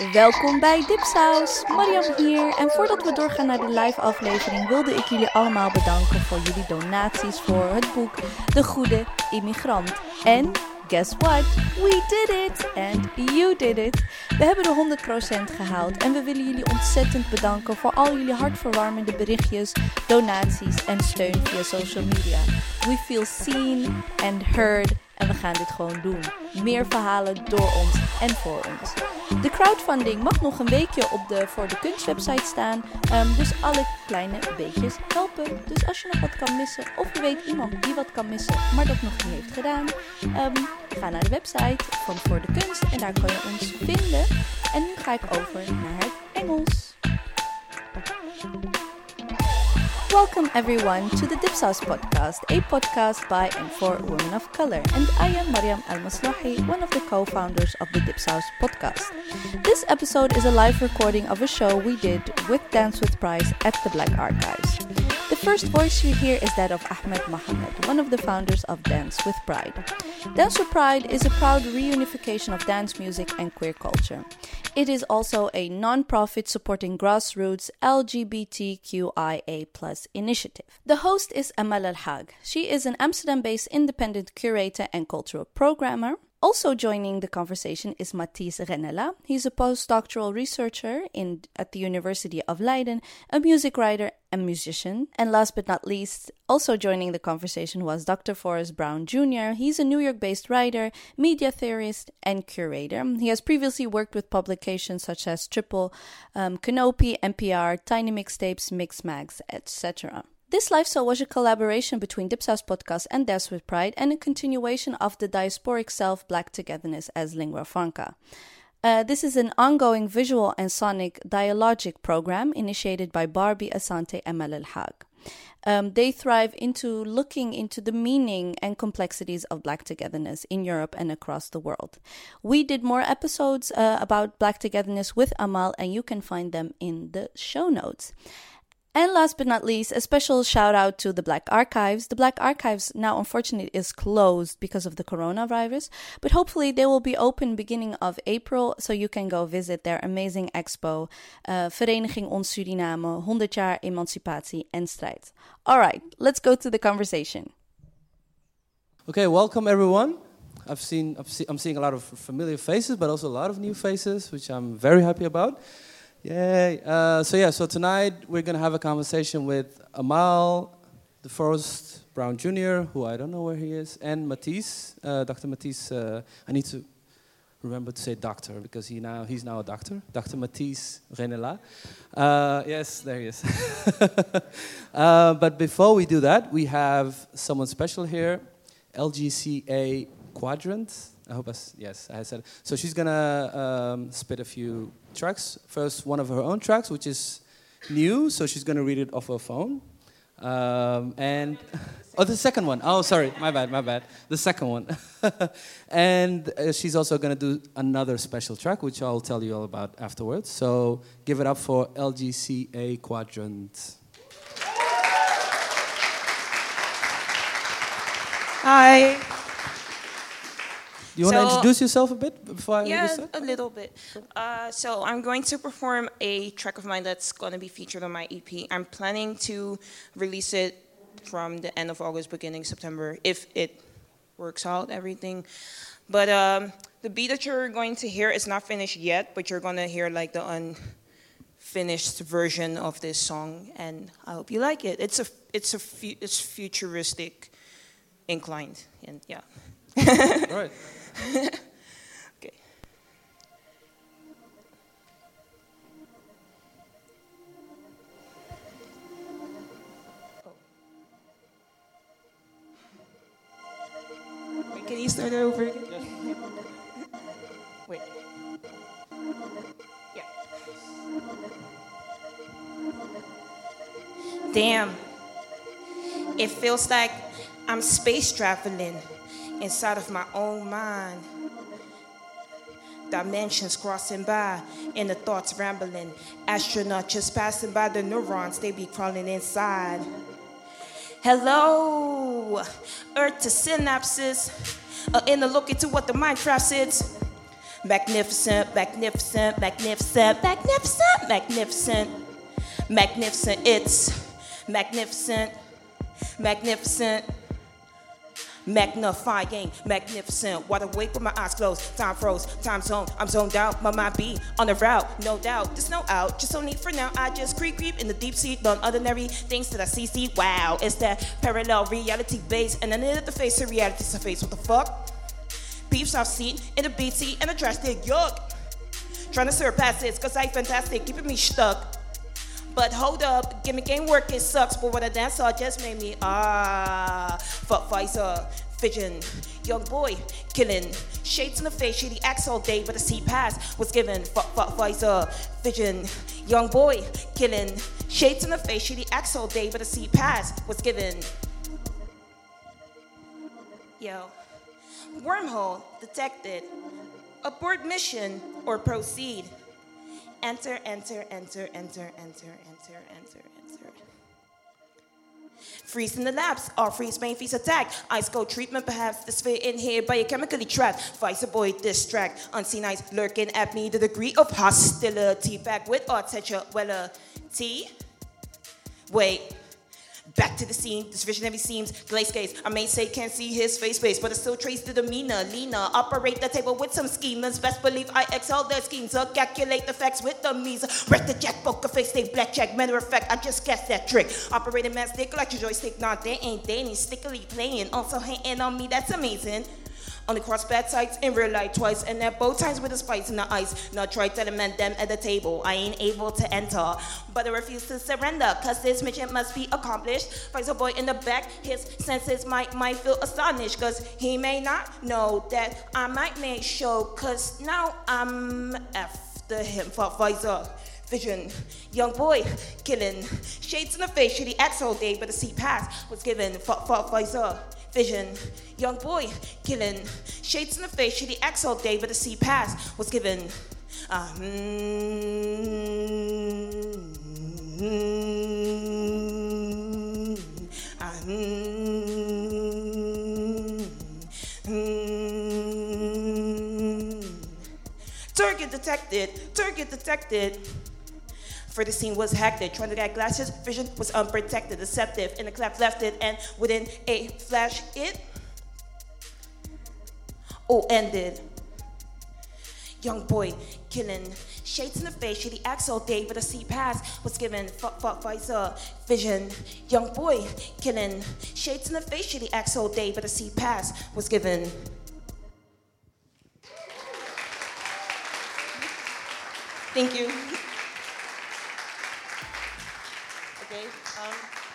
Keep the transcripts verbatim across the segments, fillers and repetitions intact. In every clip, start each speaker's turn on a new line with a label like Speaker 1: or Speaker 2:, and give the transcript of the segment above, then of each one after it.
Speaker 1: Welkom bij Dipsaus, Mariam hier. En voordat we doorgaan naar de live aflevering wilde ik jullie allemaal bedanken voor jullie donaties voor het boek De Goede Immigrant. En guess what? We did it! And you did it! We hebben de honderd procent gehaald en we willen jullie ontzettend bedanken voor al jullie hartverwarmende berichtjes, donaties en steun via social media. We feel seen and heard en we gaan dit gewoon doen. Meer verhalen door ons en voor ons. De crowdfunding mag nog een weekje op de Voor de Kunst website staan. Um, dus alle kleine beetjes helpen. Dus als je nog wat kan missen of je weet iemand die wat kan missen, maar dat nog niet heeft gedaan. Um, ga naar de website van Voor de Kunst en daar kan je ons vinden. En nu ga ik over naar het Engels. Welcome everyone to the Dipsaus podcast, a podcast by and for women of color. And I am Mariam Al-Maslahi, one of the co-founders of the Dipsaus podcast. This episode is a live recording of a show we did with Dance with Pride at the Black Archives. The first voice you hear is that of Ahmed Mohamed, one of the founders of Dance with Pride. Dance with Pride is a proud reunification of dance music and queer culture. It is also a non-profit supporting grassroots L G B T Q I A plus initiative. The host is Amal Al-Hag. She is an Amsterdam-based independent curator and cultural programmer. Also joining the conversation is Matthijs Renella. He's a postdoctoral researcher in, at the University of Leiden, a music writer and musician. And last but not least, also joining the conversation was Doctor Forrest Brown Junior He's a New York-based writer, media theorist, and curator. He has previously worked with publications such as Triple, um, Canopy, N P R, Tiny Mixtapes, Mixmags, et cetera. This live show was a collaboration between Dipsaus Podcast and Dance with Pride and a continuation of the diasporic self Black Togetherness as Lingua Franca. Uh, this is an ongoing visual and sonic dialogic program initiated by Barbie Asante and Amal Al-Hag. Um, they thrive into looking into the meaning and complexities of Black togetherness in Europe and across the world. We did more episodes uh, about Black togetherness with Amal, and you can find them in the show notes. And last but not least, a special shout out to the Black Archives. The Black Archives now unfortunately is closed because of the coronavirus, but hopefully they will be open beginning of April, so you can go visit their amazing expo, uh, Vereniging Ons Suriname, honderd jaar emancipatie en strijd. All right, let's go to the conversation.
Speaker 2: Okay, welcome everyone. I've seen, I've see, I'm seeing a lot of familiar faces, but also a lot of new faces, which I'm very happy about. Yay. Uh, so yeah, so tonight we're going to have a conversation with Amal, the Forrest Brown Junior, who I don't know where he is, and Matthijs, uh, Doctor Matthijs. Uh, I need to remember to say doctor because he now he's now a doctor, Doctor Matthijs Renella. Uh, yes, there he is. uh, but before we do that, we have someone special here, L G C A Quadrant. I hope I, yes, I said it. So she's gonna um, spit a few tracks. First, one of her own tracks, which is new, so she's gonna read it off her phone. Um, and oh, the second one. Oh, sorry, my bad, my bad. The second one. and uh, she's also gonna do another special track, which I'll tell you all about afterwards. So give it up for L G C A Quadrant.
Speaker 3: Hi.
Speaker 2: Do you want to
Speaker 3: so,
Speaker 2: introduce yourself a bit before I
Speaker 3: Yeah,
Speaker 2: start?
Speaker 3: a little bit. Uh, so I'm going to perform a track of mine that's going to be featured on my E P. I'm planning to release it from the end of August, beginning September, if it works out, everything. But um, the beat that you're going to hear is not finished yet, but you're going to hear like the unfinished version of this song, and I hope you like it. It's a, it's a, fu- it's futuristic inclined, and yeah.
Speaker 2: All right.
Speaker 3: Okay. Wait, can you start that over again?
Speaker 2: Yes.
Speaker 3: Wait. Yeah. Damn. It feels like I'm space traveling inside of my own mind. Dimensions crossing by, and the thoughts rambling. Astronaut just passing by the neurons, they be crawling inside. Hello, Earth to synapses, uh, in a look into what the mind traps is. Magnificent, magnificent, magnificent, magnificent, magnificent, magnificent, it's magnificent, magnificent, magnifying, magnificent. Wide awake with my eyes closed, time froze, time zone, I'm zoned out, my mind be on the route, no doubt, there's no out, just no need for now, I just creep creep in the deep sea, done ordinary things that I see, see, wow, it's that parallel reality base, and then at the face of reality's a face, what the fuck? Beefs I've seen in the B T and a drastic yuck. Trying to surpass this, cause I fantastic, keeping me stuck. But hold up, give me game work, it sucks. But what I dance saw just made me ah. Fuck Pfizer, vision, young boy, killing. Shades in the face, shady acts all day, but the C pass was given. Fuck, fuck Pfizer, vision, young boy, killing. Shades in the face, shady acts all day, but the C pass was given. Yo. Wormhole detected. Abort mission or proceed. Enter, enter, enter, enter, enter, enter, enter, enter. Freeze in the labs, or freeze main freeze attack. Ice cold treatment, perhaps the sphere in here by a chemically trapped. Vice boy distract. Unseen eyes lurking at me, the degree of hostility. Back with architecture, well, uh, T. Wait. Back to the scene, this visionary seems glaze gaze. I may say can't see his face face, but I still trace the demeanor. Lena, operate the table with some schemers. Best believe I excel their schemes. Uh, calculate the facts with the means. Wreck the jack, poker face, stay blackjack. Matter of fact, I just guessed that trick. Operating man stick like your joystick. Nah, they ain't dating, stickily playing. Also hating on me, that's amazing. Only cross bad sides in real life twice, and at both times with a spice in the ice. Now try telling them at the table, I ain't able to enter, but I refuse to surrender, cause this mission must be accomplished. Pfizer boy in the back, his senses might might feel astonished, cause he may not know that I might make show, cause now I'm after him for Pfizer. Vision, young boy, killing. Shades in the face, shitty acts all day, but the C pass was given for Pfizer. Vision, young boy, killing. Shades in the face, shitty acts all day, but the C pass was given. Uh, mm, mm, uh, mm, mm. Target detected, target detected. For the scene was hacked, trying to get glasses, vision was unprotected, deceptive, and the clap left it, and within a flash it all ended. Young boy killing, shades in the face, shitty acts all day, but a C pass was given. Fuck, fuck, Pfizer, vision. Young boy killing, shades in the face, shitty acts all day, but a C pass was given. Thank you. Okay, um,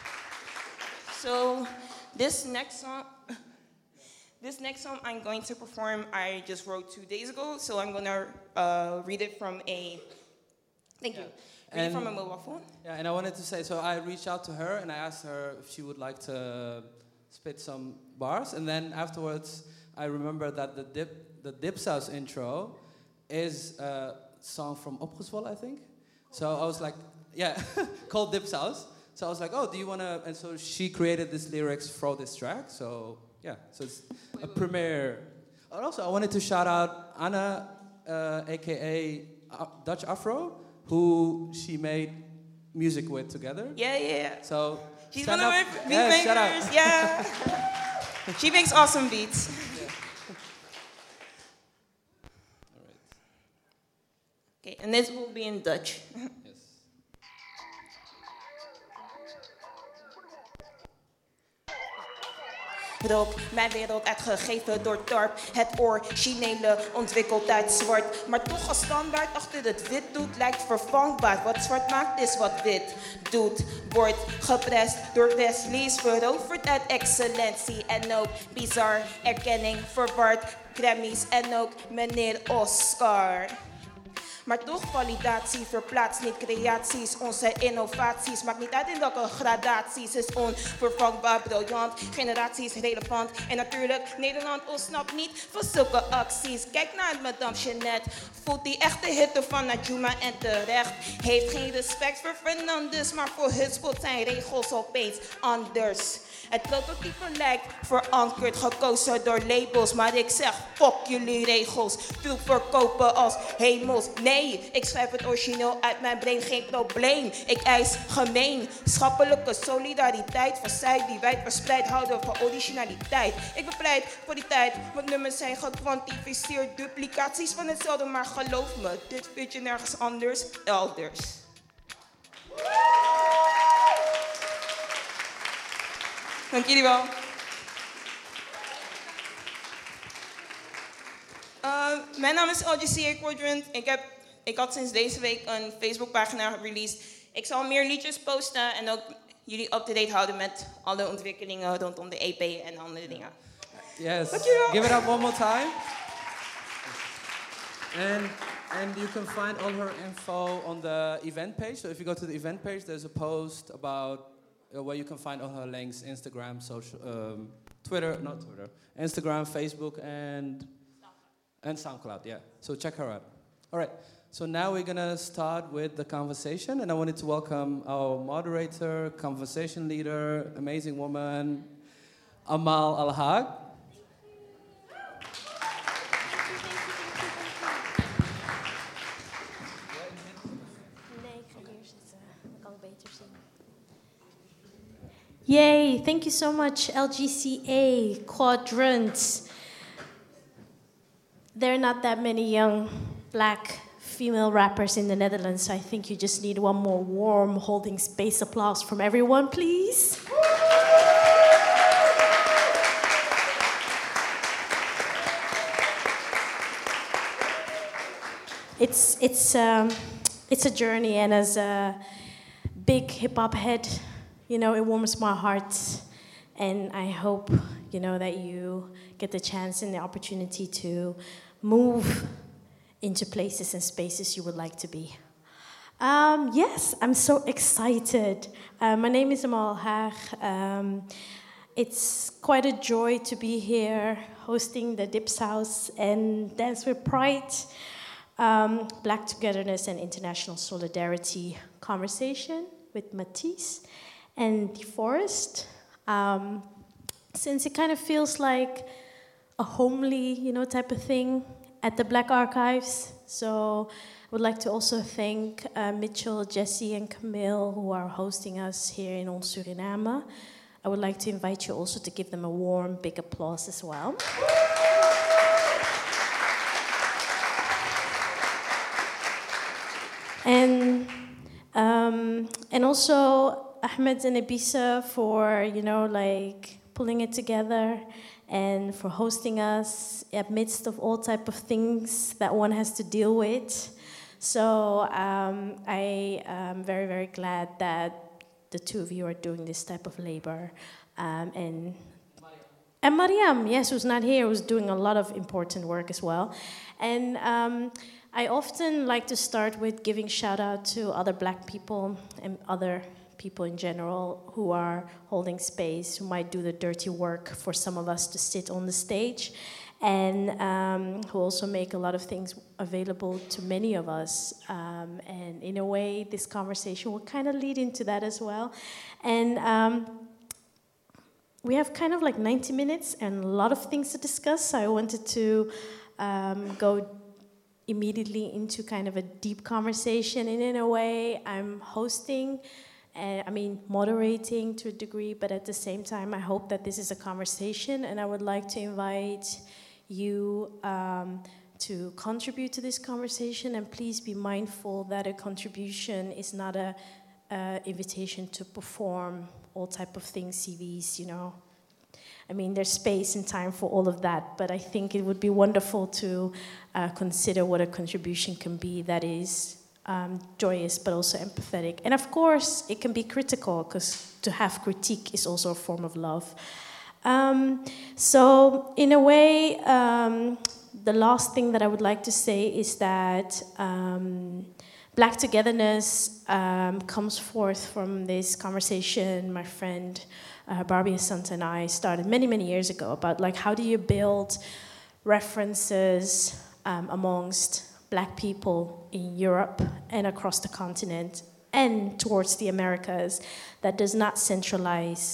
Speaker 3: so this next song, this next song I'm going to perform, I just wrote two days ago, so I'm gonna uh, read it from a, thank you,
Speaker 2: Yeah.
Speaker 3: read
Speaker 2: And-
Speaker 3: it from a mobile phone.
Speaker 2: Yeah, and I wanted to say, so I reached out to her and I asked her if she would like to spit some bars, and then afterwards I remember that the dip, the Dipsaus intro is a song from Opgezwollen, I think. So I was like, yeah, called Dipsaus. So I was like, oh, do you want to, and so she created this lyrics for this track, so yeah, so it's a premiere. And also I wanted to shout out Anna, uh, A K A uh, Dutch Afro, who she made music with together.
Speaker 3: Yeah, yeah, yeah.
Speaker 2: So
Speaker 3: She's
Speaker 2: stand
Speaker 3: one of
Speaker 2: up.
Speaker 3: my beat
Speaker 2: Yeah, shout out.
Speaker 3: makers, yeah. She makes awesome beats.
Speaker 2: All right.
Speaker 3: Okay, and this will be in Dutch.
Speaker 2: Yes.
Speaker 3: Rook, mijn wereld uitgegeven door dorp. Het originele ontwikkeld uit zwart. Maar toch als standaard achter het wit doet lijkt vervangbaar. Wat zwart maakt is wat wit doet. Wordt geprest door Wesley's veroverd uit excellentie. En ook bizar erkenning verward. Grammys en ook meneer Oscar. Maar toch validatie verplaatst niet creaties. Onze innovaties maakt niet uit in welke gradaties. Is onvervangbaar, briljant, generaties relevant. En natuurlijk, Nederland ontsnapt niet van zulke acties. Kijk naar Madame Jeannette, voelt die echte hitte van Najuma en terecht. Heeft geen respect voor Fernandes, maar voor Hutspot zijn regels opeens anders. Het prototype lijkt verankerd, gekozen door labels. Maar ik zeg, fuck jullie regels. Veel verkopen als hemels. Nee, ik schrijf het origineel uit mijn brain, geen probleem. Ik eis gemeenschappelijke solidariteit. Van zij die wijd verspreid houden van originaliteit. Ik bepleit voor die tijd, want nummers zijn gekwantificeerd. Duplicaties van hetzelfde, maar geloof me, dit vind je nergens anders, elders. Dank jullie wel. Uh, mijn naam is L G C A Quadrant. Ik, heb, ik had sinds deze week een Facebookpagina gereleased. Ik zal meer liedjes posten en ook jullie up-to-date houden met alle ontwikkelingen rondom de E P en andere dingen.
Speaker 2: Yes.
Speaker 3: Dankjewel.
Speaker 2: Give it up one more time. And and you can find all her info on the event page. So if you go to the event page, there's a post about uh, where you can find all her links: Instagram, social, um, Twitter, not Twitter, Instagram, Facebook, and and SoundCloud. Yeah. So check her out. All right. So now we're gonna start with the conversation, and I wanted to welcome our moderator, conversation leader, amazing woman, Amal Al-Hag.
Speaker 4: Yay, thank you so much, L G C A, Quadrant. There are not that many young black female rappers in the Netherlands, so I think you just need one more warm holding space applause from everyone, please. It's, it's, um, it's a journey, and as a big hip-hop head, you know, it warms my heart, and I hope, you know, that you get the chance and the opportunity to move into places and spaces you would like to be. Um, yes, I'm so excited. Uh, my name is Amal Haag. Um, it's quite a joy to be here hosting the Dipsaus and Dance with Pride, um, Black Togetherness and International Solidarity conversation with Matisse and DeForest. Um, since it kind of feels like a homely, you know, type of thing at the Black Archives. So I would like to also thank uh, Mitchell, Jesse, and Camille, who are hosting us here in Ons Suriname. I would like to invite you also to give them a warm, big applause as well. And um, and also Ahmed and Ebisa for, you know, like pulling it together and for hosting us amidst of all type of things that one has to deal with. So um, I am very, very glad that the two of you are doing this type of labor. Um, and And Mariam, yes, who's not here, who's doing a lot of important work as well. And um, I often like to start with giving shout out to other black people and other people in general who are holding space, who might do the dirty work for some of us to sit on the stage, and um, who also make a lot of things available to many of us. Um, and in a way, this conversation will kind of lead into that as well. And um, we have kind of like ninety minutes and a lot of things to discuss, so I wanted to um, go immediately into kind of a deep conversation. And in a way, I'm hosting, uh, I mean, moderating to a degree, but at the same time, I hope that this is a conversation, and I would like to invite you um, to contribute to this conversation, and please be mindful that a contribution is not a uh, invitation to perform all type of things, C Vs, you know. I mean, there's space and time for all of that, but I think it would be wonderful to uh, consider what a contribution can be that is um, joyous but also empathetic. And of course, it can be critical, because to have critique is also a form of love. Um, so, in a way, um, the last thing that I would like to say is that um, Black togetherness um, comes forth from this conversation my friend uh, Barbie Asante and I started many, many years ago about like how do you build references um, amongst black people in Europe and across the continent and towards the Americas that does not centralize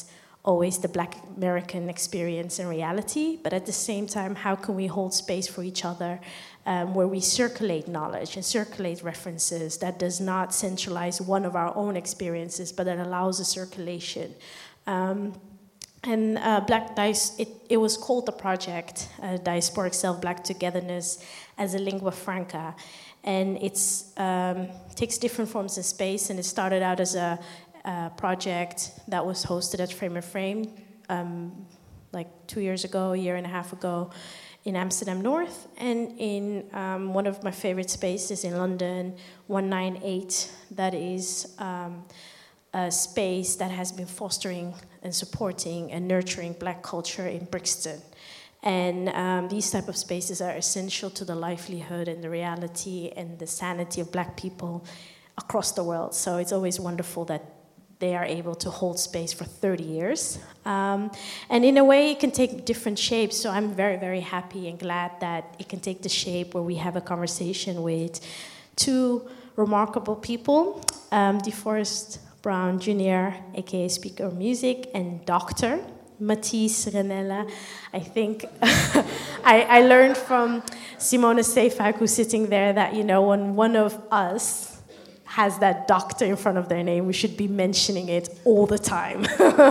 Speaker 4: always the Black American experience and reality, but at the same time, how can we hold space for each other um, where we circulate knowledge and circulate references that does not centralize one of our own experiences, but that allows a circulation. Um, and uh, Black Dice, it, it was called the project, uh, Diasporic Self-Black Togetherness as a lingua franca. And it um, takes different forms of space, and it started out as a Uh, project that was hosted at Frame and Frame um, like two years ago, a year and a half ago in Amsterdam North, and in um, one of my favorite spaces in London, one ninety-eight, that is um, a space that has been fostering and supporting and nurturing Black culture in Brixton. And um, these type of spaces are essential to the livelihood and the reality and the sanity of Black people across the world. So it's always wonderful that they are able to hold space for thirty years. Um, and in a way, it can take different shapes. So I'm very, very happy and glad that it can take the shape where we have a conversation with two remarkable people, um, DeForest Brown Junior, aka Speaker of Music, and Doctor Matisse Renella. I think I, I learned from Simone Seyfak, who's sitting there, that, you know, when one of us has that doctor in front of their name, we should be mentioning it all the time.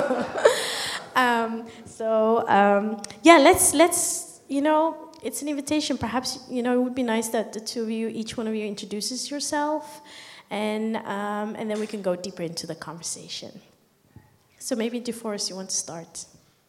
Speaker 4: um, so um, yeah, let's let's you know, it's an invitation. Perhaps, you know, it would be nice that the two of you, each one of you, introduces yourself, and um, and then we can go deeper into the conversation. So maybe DeForest, you want to start?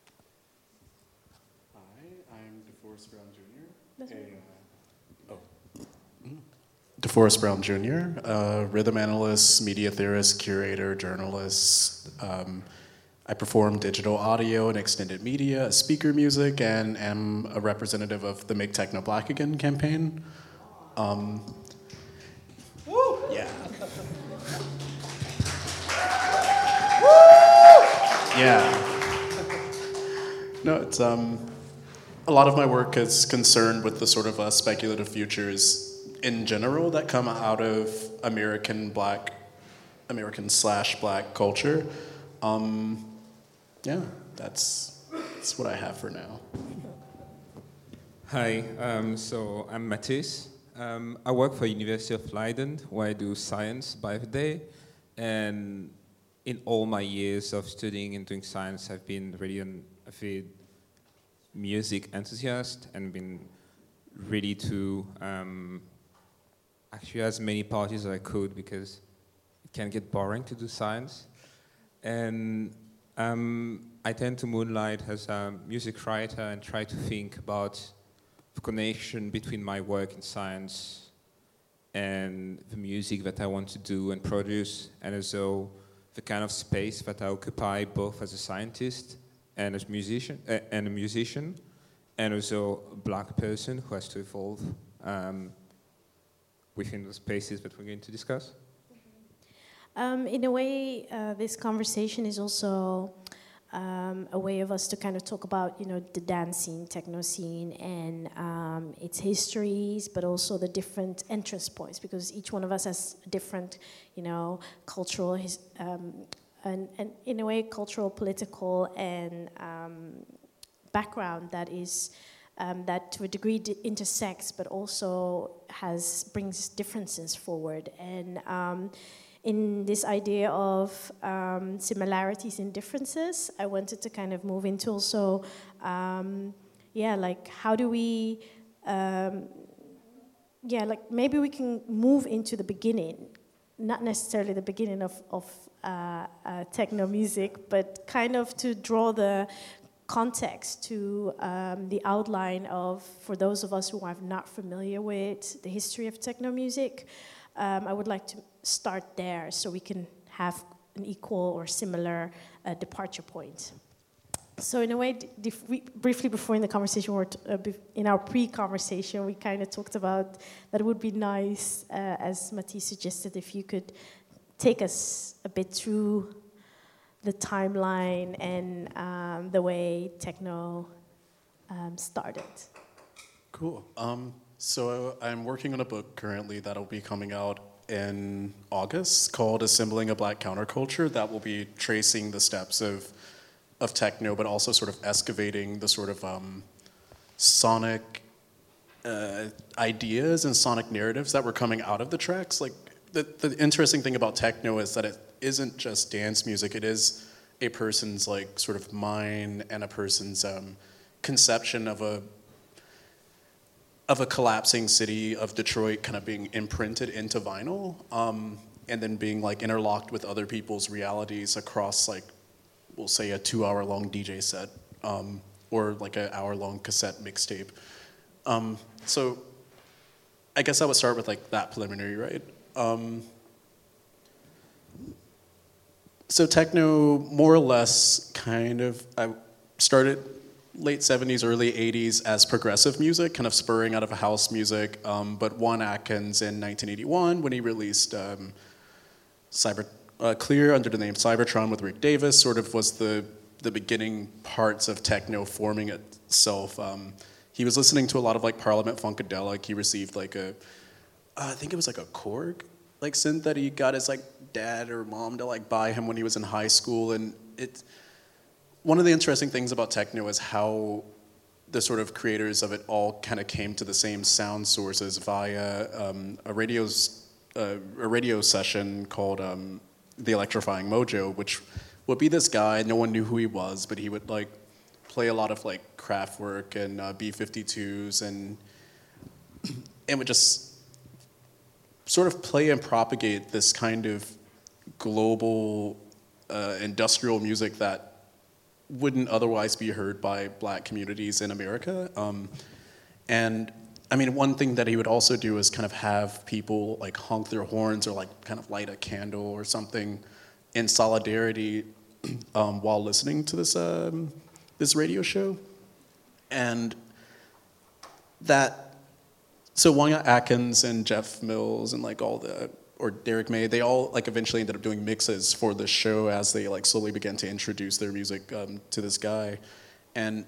Speaker 5: Hi, I'm DeForest Brown Junior A, uh, oh. DeForest Brown Junior, uh, rhythm analyst, media theorist, curator, journalist. Um, I perform digital audio and extended media, speaker music, and am a representative of the Make Techno Black Again campaign. Um, Woo! Yeah. Yeah. No, it's um, a lot of my work is concerned with the sort of uh, speculative futures in general that come out of American Black, American slash Black culture. Um, yeah, that's that's what I have for now.
Speaker 6: Hi, um, so I'm Matisse. Um, I work for University of Leiden, where I do science by the day, and in all my years of studying and doing science, I've been really an avid music enthusiast and been ready to um, actually as many parties as I could, because it can get boring to do science. And um, I tend to moonlight as a music writer and try to think about the connection between my work in science and the music that I want to do and produce, and also the kind of space that I occupy both as a scientist and as musician uh, and a musician, and also a Black person who has to evolve um, within the spaces that we're going to discuss.
Speaker 4: Um, in a way, uh, this conversation is also um, a way of us to kind of talk about, you know, the dance scene, techno scene, and um, its histories, but also the different entrance points, because each one of us has a different, you know, cultural, his, um, and, and in a way, cultural, political, and um, background that is um, that to a degree d- intersects, but also has brings differences forward. And um, in this idea of um, similarities and differences, I wanted to kind of move into also, um, yeah, like how do we, um, yeah, like maybe we can move into the beginning, not necessarily the beginning of, of uh, uh, techno music, but kind of to draw the context to um, the outline of, for those of us who are not familiar with the history of techno music, um, I would like to start there so we can have an equal or similar uh, departure point. So in a way, dif- we, briefly before in the conversation, or t- uh, bef- in our pre-conversation, we kind of talked about that it would be nice, uh, as Matisse suggested, if you could take us a bit through the timeline and um, the way techno um, started.
Speaker 5: Cool. Um, so I'm working on a book currently that'll be coming out in August called Assembling a Black Counterculture, that will be tracing the steps of of techno, but also sort of excavating the sort of um, sonic uh, ideas and sonic narratives that were coming out of the tracks. Like the, the interesting thing about techno is that it isn't just dance music, it is a person's like sort of mind and a person's um, conception of a of a collapsing city of Detroit kind of being imprinted into vinyl, um, and then being like interlocked with other people's realities across like, we'll say a two hour long D J set, um, or like an hour long cassette mixtape. Um, so I guess I would start with like that preliminary, right? Um, so techno more or less kind of, I started late seventies, early eighties as progressive music, kind of spurring out of house music. Um, but Juan Atkins in nineteen eighty-one, when he released um, Cyber uh, Clear under the name Cybertron with Rick Davis, sort of was the the beginning parts of techno forming itself. Um, he was listening to a lot of like Parliament Funkadelic. He received like a, uh, I think it was like a Korg like synth that he got his like dad or mom to like buy him when he was in high school, and it. One of the interesting things about techno is how the sort of creators of it all kind of came to the same sound sources via um, a radio's uh, a radio session called um, The Electrifying Mojo, which would be this guy. No one knew who he was, but he would like play a lot of like Kraftwerk and uh, B fifty-twos and and would just sort of play and propagate this kind of global uh, industrial music that wouldn't otherwise be heard by black communities in America. Um, and I mean, one thing that he would also do is kind of have people like honk their horns or like kind of light a candle or something in solidarity um, while listening to this um, this radio show. And that, so Juan Atkins and Jeff Mills and like all the, or Derek May, they all like eventually ended up doing mixes for the show as they like slowly began to introduce their music um, to this guy. And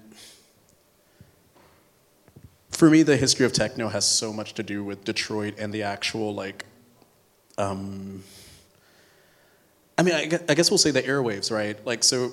Speaker 5: for me, the history of techno has so much to do with Detroit and the actual like, um, I mean, I guess, I guess we'll say the airwaves, right? Like, so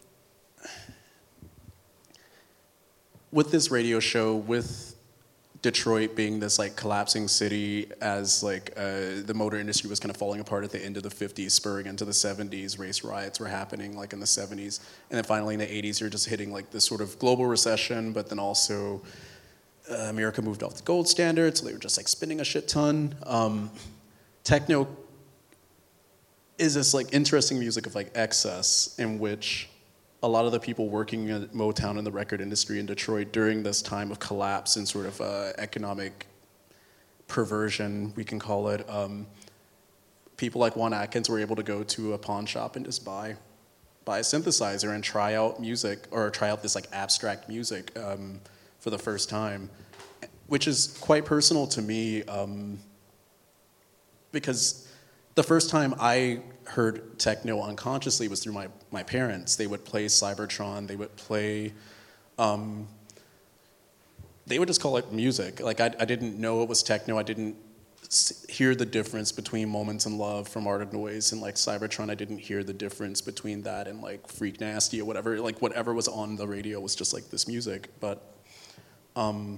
Speaker 5: with this radio show, with Detroit being this like collapsing city as like uh, the motor industry was kind of falling apart at the end of the fifties, spurring into the seventies, race riots were happening like in the seventies, and then finally in the eighties you're just hitting like this sort of global recession, but then also uh, America moved off the gold standard, so they were just like spending a shit ton. Um, techno is this like interesting music of like excess in which a lot of the people working at Motown in the record industry in Detroit during this time of collapse and sort of uh, economic perversion, we can call it, um, people like Juan Atkins were able to go to a pawn shop and just buy, buy a synthesizer and try out music, or try out this like abstract music um, for the first time, which is quite personal to me um, because the first time I heard techno unconsciously was through my, my parents. They would play Cybertron, they would play, um, they would just call it music. Like I, I didn't know it was techno, I didn't hear the difference between Moments in Love from Art of Noise and like Cybertron. I didn't hear the difference between that and like Freak Nasty or whatever. Like whatever was on the radio was just like this music. But um,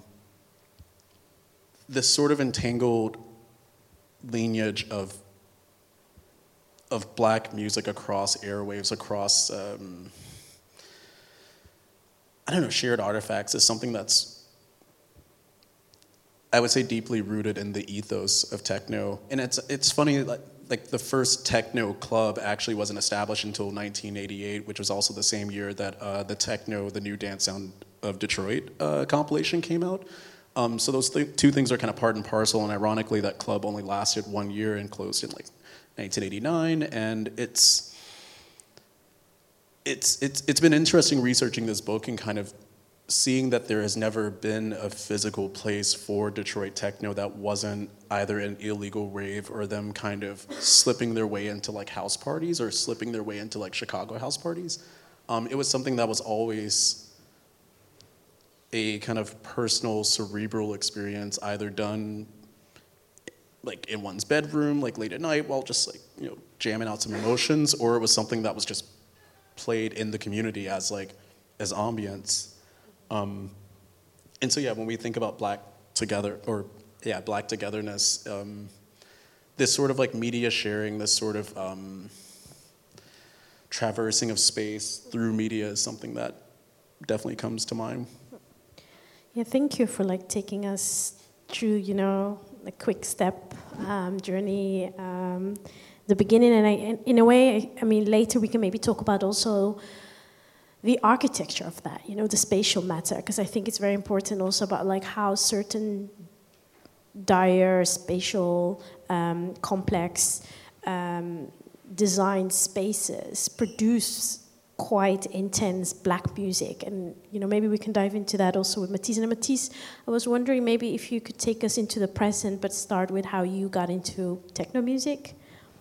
Speaker 5: this sort of entangled lineage of of black music across airwaves, across, um, I don't know, shared artifacts is something that's, I would say, deeply rooted in the ethos of techno. And it's it's funny, like, like the first techno club actually wasn't established until nineteen eighty-eight, which was also the same year that uh, the Techno, the New Dance Sound of Detroit uh, compilation came out. Um, so those th- two things are kind of part and parcel, and ironically that club only lasted one year and closed in like nineteen eighty-nine, and it's it's it's it's been interesting researching this book and kind of seeing that there has never been a physical place for Detroit techno that wasn't either an illegal rave or them kind of slipping their way into like house parties or slipping their way into like Chicago house parties. Um, it was something that was always a kind of personal, cerebral experience, either done like in one's bedroom, like late at night, while just like, you know, jamming out some emotions, or it was something that was just played in the community as like as ambience. Um, and so yeah, when we think about Black together or yeah, Black togetherness, um, this sort of like media sharing, this sort of um, traversing of space through media is something that definitely comes to mind.
Speaker 4: Yeah, thank you for like taking us through, you know, a quick step um, journey, um, the beginning, and I, and in a way, I, I mean, later we can maybe talk about also the architecture of that, you know, the spatial matter, because I think it's very important also about like how certain dire spatial um, complex um, design spaces produce quite intense Black music, and you know maybe we can dive into that also with Matisse. And Matisse, I was wondering maybe if you could take us into the present, but start with how you got into techno music.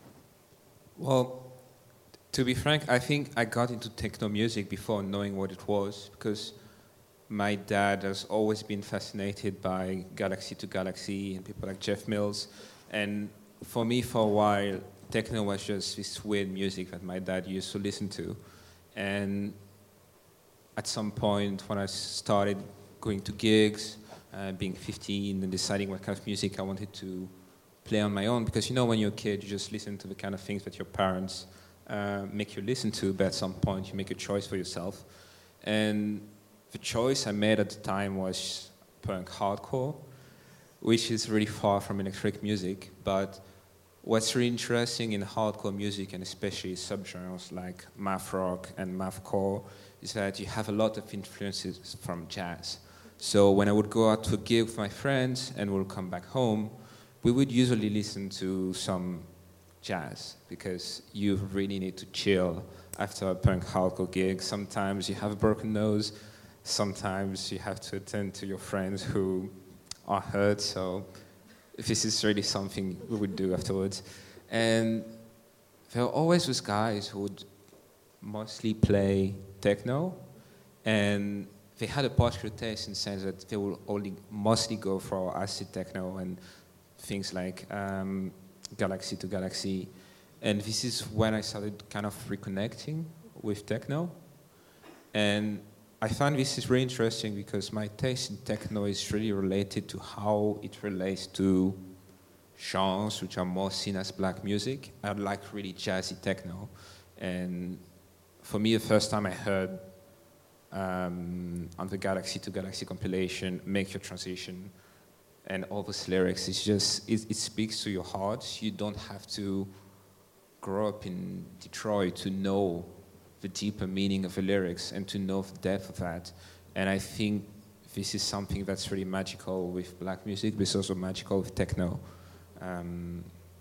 Speaker 6: Well, to be frank, I think I got into techno music before knowing what it was, because my dad has always been fascinated by Galaxy to Galaxy and people like Jeff Mills, and for me, for a while, techno was just this weird music that my dad used to listen to. And at some point, when I started going to gigs, uh, being fifteen, and deciding what kind of music I wanted to play on my own, because you know when you're a kid, you just listen to the kind of things that your parents uh, make you listen to, but at some point you make a choice for yourself. And the choice I made at the time was punk hardcore, which is really far from electronic music, but what's really interesting in hardcore music, and especially subgenres like math rock and mathcore, is that you have a lot of influences from jazz. So when I would go out to a gig with my friends and we'll come back home, we would usually listen to some jazz, because you really need to chill after a punk hardcore gig. Sometimes you have a broken nose, sometimes you have to attend to your friends who are hurt, so this is really something we would do afterwards. And there were always those guys who would mostly play techno, and they had a particular taste in the sense that they would only mostly go for acid techno and things like um, Galaxy to Galaxy. And this is when I started kind of reconnecting with techno. And I find this is really interesting because my taste in techno is really related to how it relates to genres which are more seen as Black music. I like really jazzy techno. And for me, the first time I heard um, on the Galaxy to Galaxy compilation, Make Your Transition, and all those lyrics, it's just, it, it speaks to your heart. You don't have to grow up in Detroit to know the deeper meaning of the lyrics and to know the depth of that. And I think this is something that's really magical with Black music, but it's also magical with techno. Um,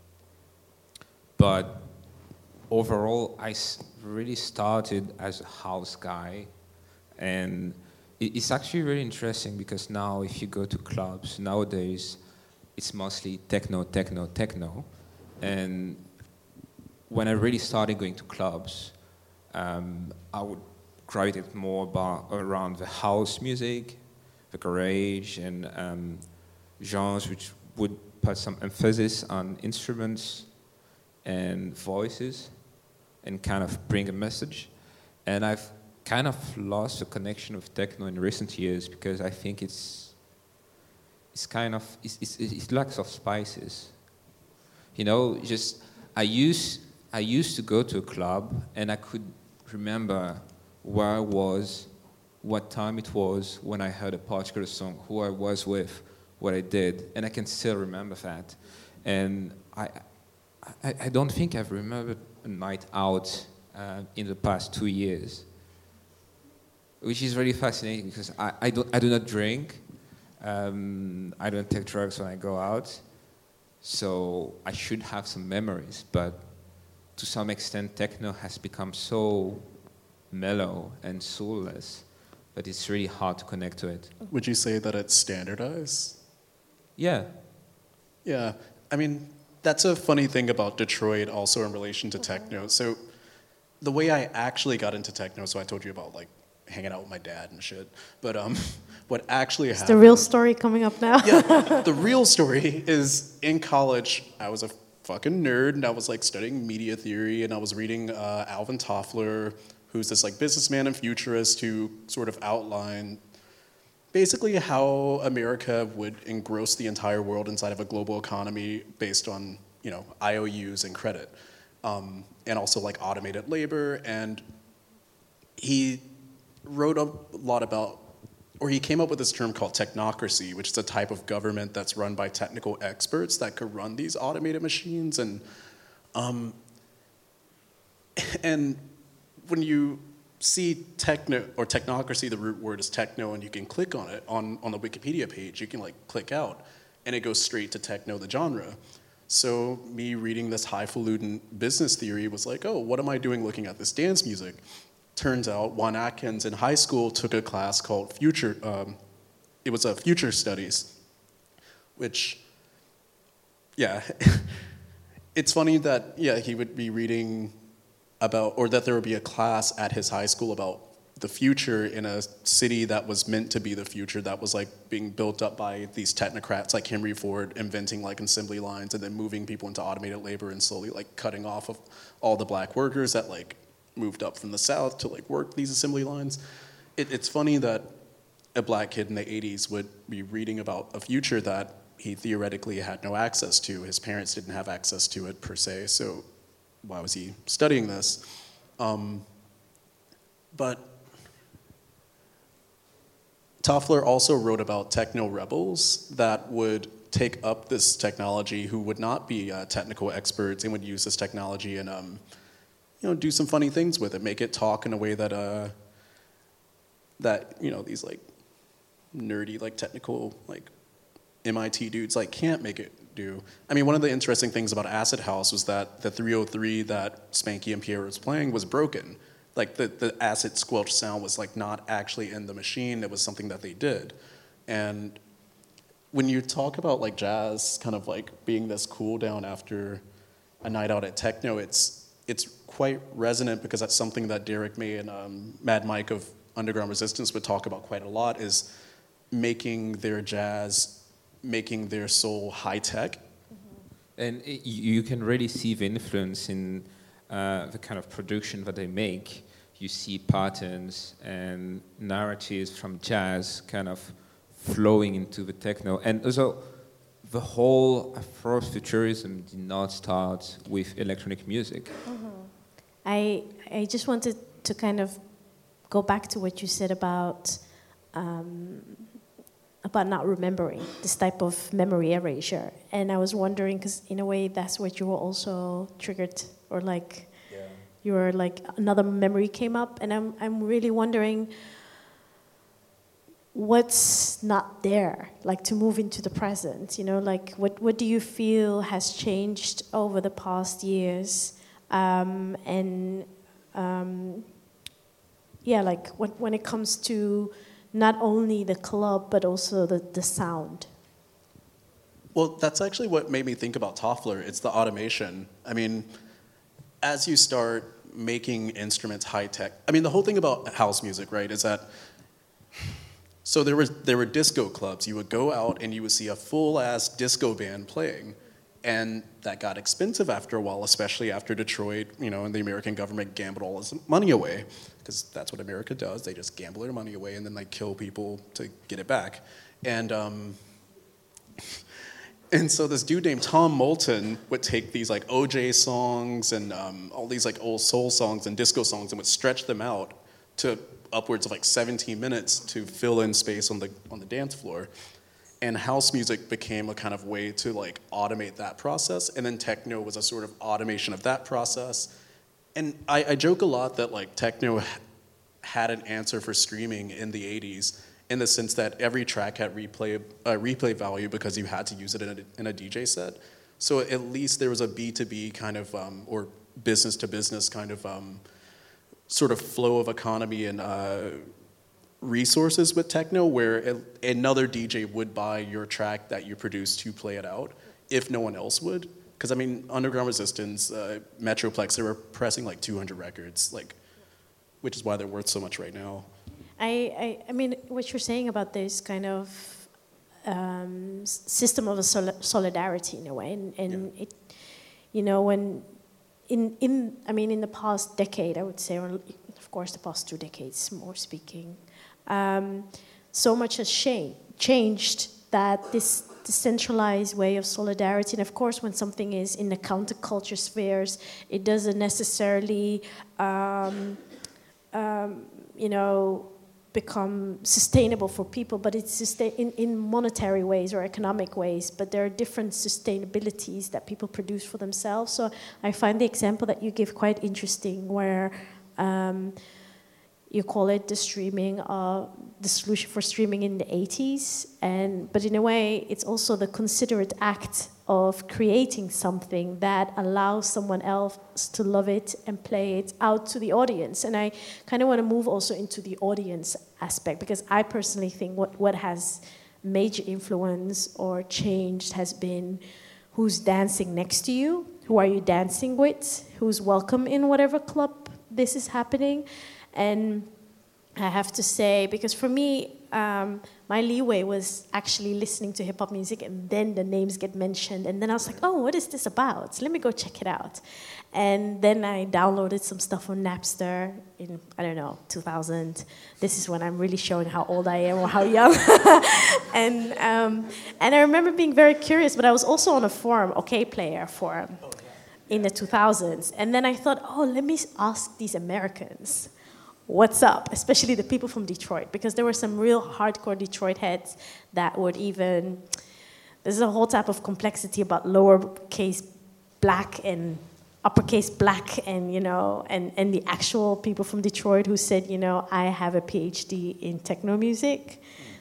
Speaker 6: but overall, I s- really started as a house guy, and it, it's actually really interesting because now if you go to clubs, nowadays, it's mostly techno, techno, techno. And when I really started going to clubs, Um, I would gravitate more about, around the house music, the garage, and um, genres which would put some emphasis on instruments and voices and kind of bring a message. And I've kind of lost the connection with techno in recent years because I think it's it's kind of, it's, it's, it lacks of spices. You know, just, I used, I used to go to a club and I could remember where I was, what time it was when I heard a particular song, who I was with, what I did, and I can still remember that. And I, I, I don't think I've remembered a night out uh, in the past two years, which is really fascinating because I, I, don't, I do not drink, um, I don't take drugs when I go out, so I should have some memories, but to some extent, techno has become so mellow and soulless that it's really hard to connect to it.
Speaker 5: Would you say that it's standardized?
Speaker 6: Yeah.
Speaker 5: Yeah. I mean, that's a funny thing about Detroit also in relation to techno. So the way I actually got into techno, so I told you about like hanging out with my dad and shit, but um, what actually
Speaker 4: It's
Speaker 5: happened...
Speaker 4: the real story coming up now.
Speaker 5: Yeah, the real story is in college, I was a fucking nerd, and I was like studying media theory, and I was reading uh, Alvin Toffler, who's this like businessman and futurist who sort of outlined basically how America would engross the entire world inside of a global economy based on, you know, I O Us and credit, um, and also like automated labor. And he wrote a lot about, or he came up with this term called technocracy, which is a type of government that's run by technical experts that could run these automated machines. And um, and when you see techno or technocracy, the root word is techno, and you can click on it on, on the Wikipedia page. You can like click out, and it goes straight to techno, the genre. So me reading this highfalutin business theory was like, oh, what am I doing looking at this dance music? Turns out Juan Atkins in high school took a class called Future, um, it was a Future Studies, which, yeah, it's funny that, yeah, he would be reading about, or that there would be a class at his high school about the future in a city that was meant to be the future, that was like being built up by these technocrats like Henry Ford, inventing like assembly lines and then moving people into automated labor and slowly like cutting off of all the black workers that like moved up from the South to like work these assembly lines. It, it's funny that a black kid in the eighties would be reading about a future that he theoretically had no access to. His parents didn't have access to it per se, so why was he studying this? Um, but Toffler also wrote about techno rebels that would take up this technology, who would not be uh, technical experts and would use this technology and um, you know, do some funny things with it, make it talk in a way that uh, that you know these like nerdy like technical like M I T dudes like can't make it do. I mean, one of the interesting things about Acid House was that the three oh three that Spanky and Pierre was playing was broken. Like the, the acid squelch sound was like not actually in the machine, it was something that they did. And when you talk about like jazz kind of like being this cool down after a night out at techno, it's it's quite resonant because that's something that Derek May and um, Mad Mike of Underground Resistance would talk about quite a lot, is making their jazz, making their soul high tech.
Speaker 6: Mm-hmm. And it, you can really see the influence in uh, the kind of production that they make. You see patterns and narratives from jazz kind of flowing into the techno. And also, the whole Afrofuturism did not start with electronic music.
Speaker 4: Mm-hmm. I I just wanted to kind of go back to what you said about um, about not remembering, this type of memory erasure. And I was wondering, because in a way that's what you were also triggered, or like yeah. you were like another memory came up, and I'm I'm really wondering what's not there, like to move into the present, you know, like what, what do you feel has changed over the past years? Um, and um, yeah, like when, when it comes to not only the club, but also the, the sound.
Speaker 5: Well, that's actually what made me think about Toffler. It's the automation. I mean, as you start making instruments high tech, I mean, the whole thing about house music, right, is that so there was there were disco clubs. You would go out and you would see a full-ass disco band playing, and that got expensive after a while, especially after Detroit, you know, and the American government gambled all its money away, because that's what America does. They just gamble their money away and then they kill people to get it back. And um, and so this dude named Tom Moulton would take these like O J songs and um, all these like old soul songs and disco songs and would stretch them out to upwards of like seventeen minutes to fill in space on the on the dance floor. And house music became a kind of way to like automate that process, and then techno was a sort of automation of that process. And I, I joke a lot that like techno had an answer for streaming in the eighties, in the sense that every track had replay uh, replay value because you had to use it in a, in a D J set. So at least there was a B two B kind of um, or business to business kind of um, sort of flow of economy and uh, resources with techno, where another D J would buy your track that you produced to play it out if no one else would. Because I mean, Underground Resistance, uh, Metroplex, they were pressing like two hundred records, like, which is why they're worth so much right now.
Speaker 4: I, I, I mean, what you're saying about this kind of um, system of a sol- solidarity in a way, and, and yeah. it, you know, when in in I mean, in the past decade, I would say, or of course, the past two decades, more speaking. Um, so much has cha- changed that this decentralized way of solidarity, and of course, when something is in the counterculture spheres, it doesn't necessarily, um, um, you know, become sustainable for people, but it's sustain in, in monetary ways or economic ways, but there are different sustainabilities that people produce for themselves. So I find the example that you give quite interesting, where um, you call it the streaming, uh, the solution for streaming in the eighties, and but in a way, it's also the considerate act of creating something that allows someone else to love it and play it out to the audience. And I kind of want to move also into the audience aspect, because I personally think what, what has major influence or changed has been who's dancing next to you, who are you dancing with, who's welcome in whatever club this is happening. And I have to say, because for me, um, my leeway was actually listening to hip-hop music, and then the names get mentioned, and then I was like, oh, what is this about? Let me go check it out. And then I downloaded some stuff on Napster in, I don't know, two thousand. This is when I'm really showing how old I am or how young. and um, and I remember being very curious, but I was also on a forum, OKPlayer forum, in the two thousands. And then I thought, oh, let me ask these Americans, what's up, especially the people from Detroit, because there were some real hardcore Detroit heads that would even, there's a whole type of complexity about lowercase black and uppercase black, and, you know, and, and the actual people from Detroit who said, you know, I have a PhD in techno music,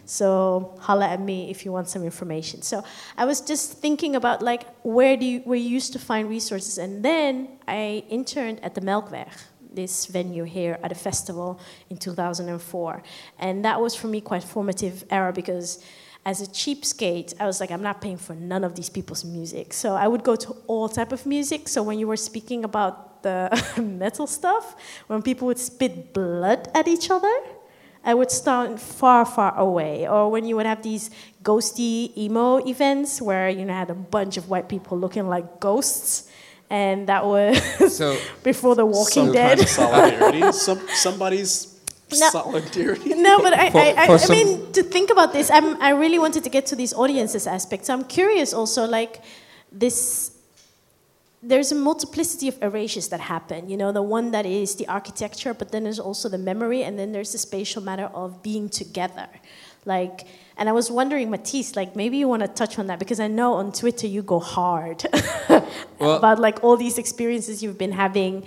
Speaker 4: so holla at me if you want some information. So I was just thinking about, like, where do you, where you used to find resources, and then I interned at the Melkweg, this venue here at a festival in two thousand four. And that was for me quite formative era, because as a cheapskate, I was like, I'm not paying for none of these people's music. So I would go to all type of music. So when you were speaking about the metal stuff, when people would spit blood at each other, I would stand far, far away. Or when you would have these ghosty emo events where you know had a bunch of white people looking like ghosts, and that was so before The Walking
Speaker 5: some
Speaker 4: Dead.
Speaker 5: Kind of solidarity. some, somebody's no, solidarity.
Speaker 4: No, but I,
Speaker 6: for,
Speaker 4: I, I,
Speaker 6: for
Speaker 4: I mean, to think about this, I'm, I really wanted to get to these audiences aspects. I'm curious also, like, this, there's a multiplicity of erasures that happen. You know, the one that is the architecture, but then there's also the memory, and then there's the spatial matter of being together. Like, and I was wondering, Matisse, like, maybe you want to touch on that, because I know on Twitter you go hard well, about, like, all these experiences you've been having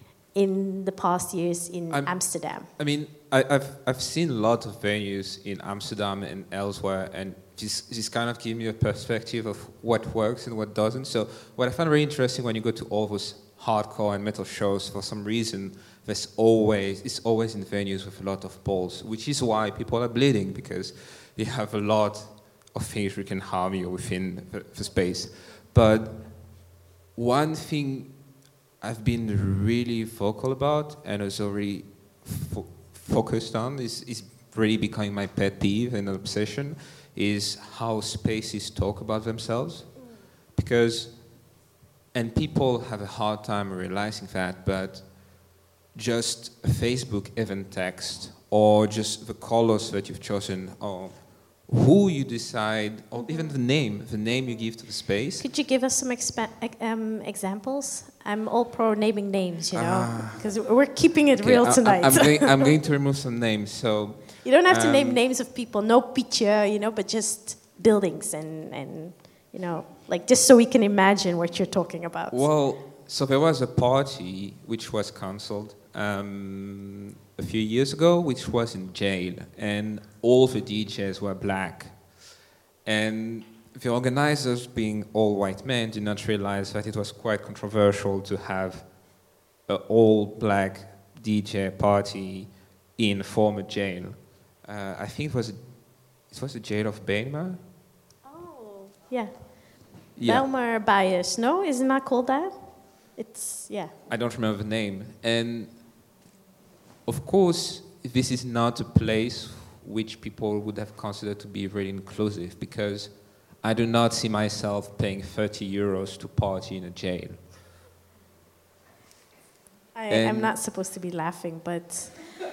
Speaker 4: in the past years in I'm, Amsterdam.
Speaker 6: I mean, I, I've I've seen a lot of venues in Amsterdam and elsewhere, and this this kind of gives me a perspective of what works and what doesn't. So what I find really interesting when you go to all those hardcore and metal shows, for some reason, there's always it's always in venues with a lot of balls, which is why people are bleeding, because they have a lot of things that can harm you within the, the space. But one thing I've been really vocal about and also really fo- focused on is, is really becoming my pet peeve and obsession, is how spaces talk about themselves. Because, and people have a hard time realizing that, but just a Facebook event text, or just the colors that you've chosen, or who you decide, or even the name, the name you give to the space.
Speaker 4: Could you give us some expa- um, examples? I'm all pro naming names, you know, because uh, we're keeping it
Speaker 6: okay,
Speaker 4: real
Speaker 6: I,
Speaker 4: tonight.
Speaker 6: I'm, going, I'm going to remove some names. So
Speaker 4: you don't have um, to name
Speaker 6: um,
Speaker 4: names of people, no picture, you know, but just buildings and, and, you know, like just so we can imagine what you're talking about.
Speaker 6: Well, so there was a party which was cancelled um, a few years ago, which was in jail, and all the D Js were black. And the organizers, being all white men, did not realize that it was quite controversial to have an all-black D J party in a former jail. Uh, I think it was, a, it was the jail of Bijlmer.
Speaker 4: Oh, yeah.
Speaker 6: yeah.
Speaker 4: Bijlmer Bias, no? Isn't that called that? It's, yeah.
Speaker 6: I don't remember the name. And of course, this is not a place which people would have considered to be really inclusive, because I do not see myself paying thirty euros to party in a jail.
Speaker 4: I, I'm not supposed to be laughing, but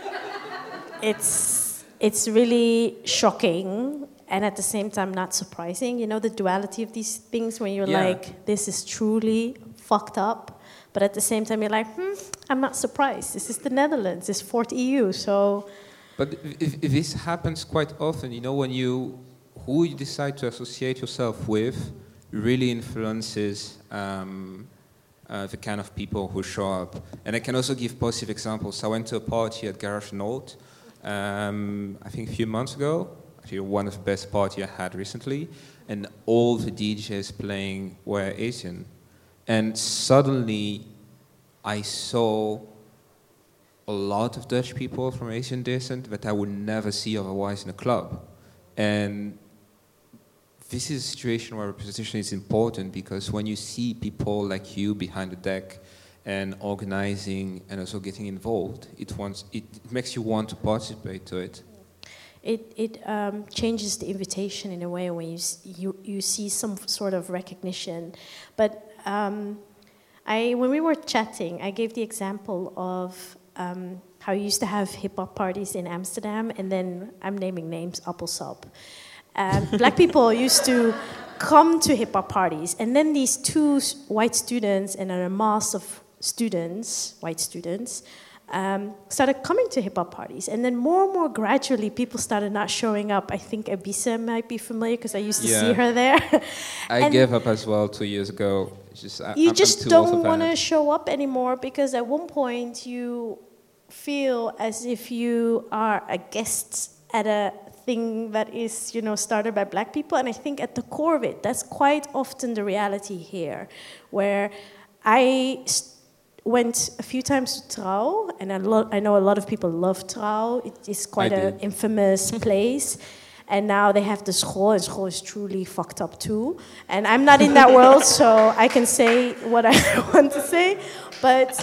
Speaker 4: it's it's really shocking and at the same time not surprising. You know, the duality of these things when you're
Speaker 6: Yeah.
Speaker 4: like, this is truly fucked up, but at the same time you're like, hmm, I'm not surprised. This is the Netherlands, it's fourth E U, so...
Speaker 6: But if, if this happens quite often, you know, when you, who you decide to associate yourself with really influences um, uh, the kind of people who show up. And I can also give positive examples. I went to a party at Garage Noord, um, I think a few months ago, actually one of the best parties I had recently, and all the D Js playing were Asian. And suddenly I saw a lot of Dutch people from Asian descent that I would never see otherwise in a club. And this is a situation where representation is important, because when you see people like you behind the deck and organizing and also getting involved, it, wants, it, it makes you want to participate to it.
Speaker 4: It, it um, changes the invitation in a way when you, s- you, you see some sort of recognition. But um, I, when we were chatting, I gave the example of um, how you used to have hip-hop parties in Amsterdam, and then I'm naming names, Appelsap. Um, black people used to come to hip-hop parties, and then these two s- white students and a mass of students, white students, um, started coming to hip-hop parties. And then more and more gradually, people started not showing up. I think Abisa might be familiar, because I used to
Speaker 6: Yeah.
Speaker 4: see her there.
Speaker 6: I
Speaker 4: And
Speaker 6: gave up as well two years ago. It's just, I,
Speaker 4: you
Speaker 6: I'm,
Speaker 4: just
Speaker 6: I'm too old
Speaker 4: don't
Speaker 6: for
Speaker 4: want to
Speaker 6: that.
Speaker 4: show up anymore, because at one point you feel as if you are a guest at a thing that is, you know, started by black people. And I think at the core of it, that's quite often the reality here, where I st- went a few times to Trouw, and I, lo- I know a lot of people love Trouw. It is quite
Speaker 6: I
Speaker 4: an
Speaker 6: did.
Speaker 4: infamous place. And now they have the school, and school is truly fucked up too. And I'm not in that world, so I can say what I want to say. But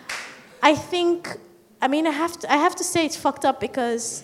Speaker 4: I think, I mean, I have to, I have to say it's fucked up, because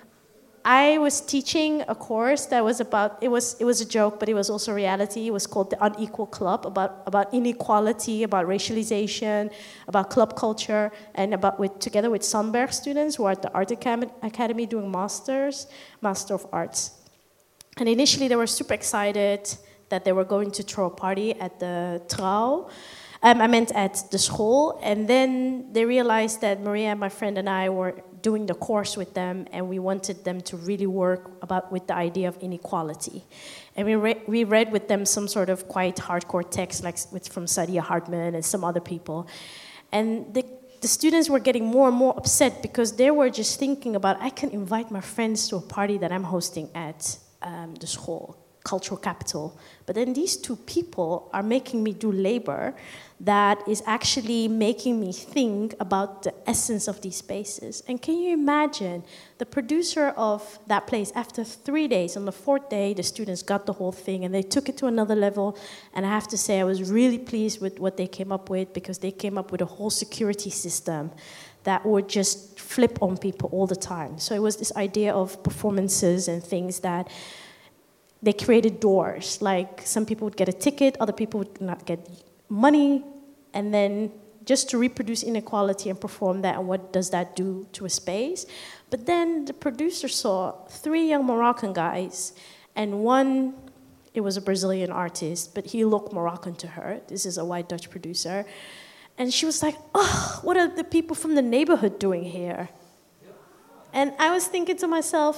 Speaker 4: I was teaching a course that was about, it was it was a joke, but it was also reality. It was called The Unequal Club, about, about inequality, about racialization, about club culture, and about with together with Sandberg students who are at the Art Acam- Academy doing masters, Master of Arts. And initially they were super excited that they were going to throw a party at the Trouw. Um, I meant at the school, and then they realized that Maria, my friend, and I were doing the course with them, and we wanted them to really work about with the idea of inequality. And we, re- we read with them some sort of quite hardcore text, like with, from Saidiya Hartman and some other people. And the, the students were getting more and more upset, because they were just thinking about, I can invite my friends to a party that I'm hosting at um, the school, cultural capital. But then these two people are making me do labor that is actually making me think about the essence of these spaces. And can you imagine the producer of that place, after three days, on the fourth day, the students got the whole thing and they took it to another level. And I have to say, I was really pleased with what they came up with, because they came up with a whole security system that would just flip on people all the time. So it was this idea of performances and things that they created doors. Like, some people would get a ticket, other people would not get money, and then just to reproduce inequality and perform that, and what does that do to a space. But then the producer saw three young Moroccan guys, and one, it was a Brazilian artist, but he looked Moroccan to her. This is a white Dutch producer. And she was like, oh, what are the people from the neighborhood doing here? And I was thinking to myself,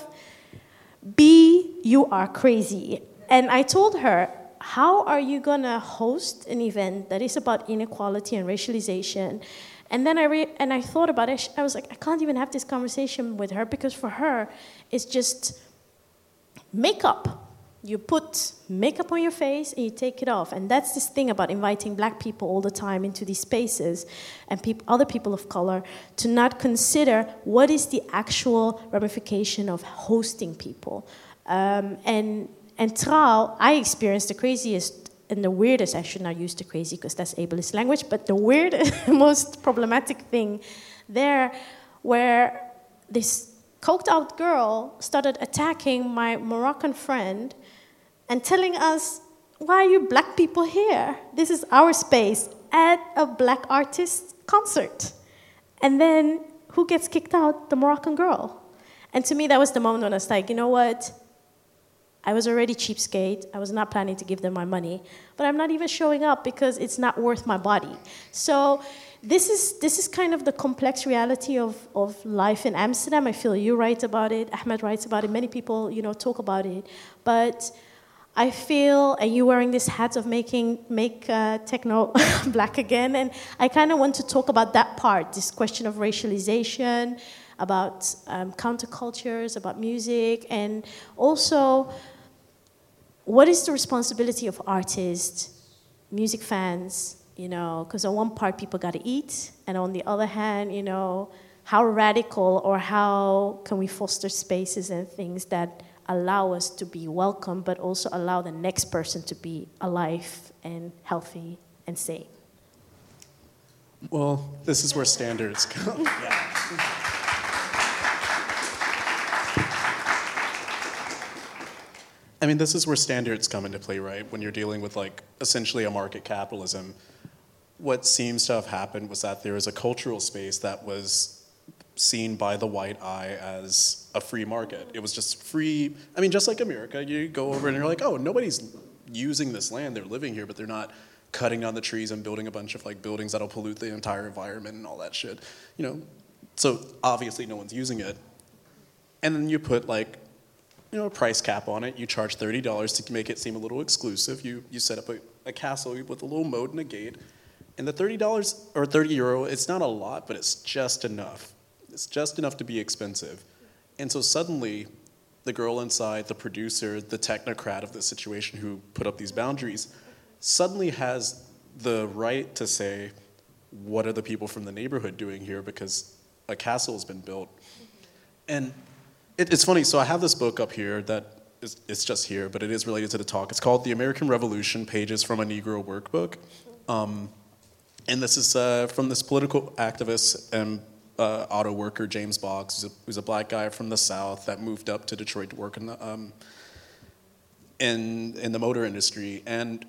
Speaker 4: B, you are crazy. And I told her, how are you gonna host an event that is about inequality and racialization? And then I re- and I thought about it. I was like, I can't even have this conversation with her, because for her, it's just makeup. You put makeup on your face and you take it off. And that's this thing about inviting black people all the time into these spaces, and peop- other people of color, to not consider what is the actual ramification of hosting people. Um, and and Trouw, I experienced the craziest and the weirdest, I should not use the crazy because that's ableist language, but the weirdest, most problematic thing there, where this coked out girl started attacking my Moroccan friend and telling us, why are you black people here? This is our space at a black artist concert. And then who gets kicked out? The Moroccan girl. And to me, that was the moment when I was like, you know what? I was already cheapskate. I was not planning to give them my money. But I'm not even showing up because it's not worth my body. So this is this is kind of the complex reality of, of life in Amsterdam. I feel you write about it. Ahmed writes about it. Many people, you know, talk about it. But I feel, and you wearing this hat of making make uh, techno black again, and I kind of want to talk about that part, this question of racialization, about um, countercultures, about music, and also what is the responsibility of artists, music fans, you know, because on one part people got to eat, and on the other hand, you know, how radical or how can we foster spaces and things that allow us to be welcome, but also allow the next person to be alive and healthy and safe.
Speaker 5: Well, this is where standards come. Yeah. I mean, this is where standards come into play, right? When you're dealing with, like, essentially a market capitalism. What seems to have happened was that there is a cultural space that was seen by the white eye as a free market. It was just free. I mean, just like America, you go over and you're like, oh, nobody's using this land. They're living here, but they're not cutting down the trees and building a bunch of, like, buildings that'll pollute the entire environment and all that shit. You know, so obviously no one's using it. And then you put, like, you know, a price cap on it. You charge thirty dollars to make it seem a little exclusive. You you set up a, a castle with a little moat and a gate. And the thirty dollars or thirty euro, it's not a lot, but it's just enough. It's just enough to be expensive. And so suddenly, the girl inside, the producer, the technocrat of the situation who put up these boundaries, suddenly has the right to say, what are the people from the neighborhood doing here, because a castle has been built. And it, it's funny, so I have this book up here that is, it's just here, but it is related to the talk. It's called The American Revolution, Pages from a Negro Workbook. Um, and this is uh, from this political activist and uh, auto worker, James Boggs, who's a, who's a black guy from the South that moved up to Detroit to work in the, um, in, in the motor industry. And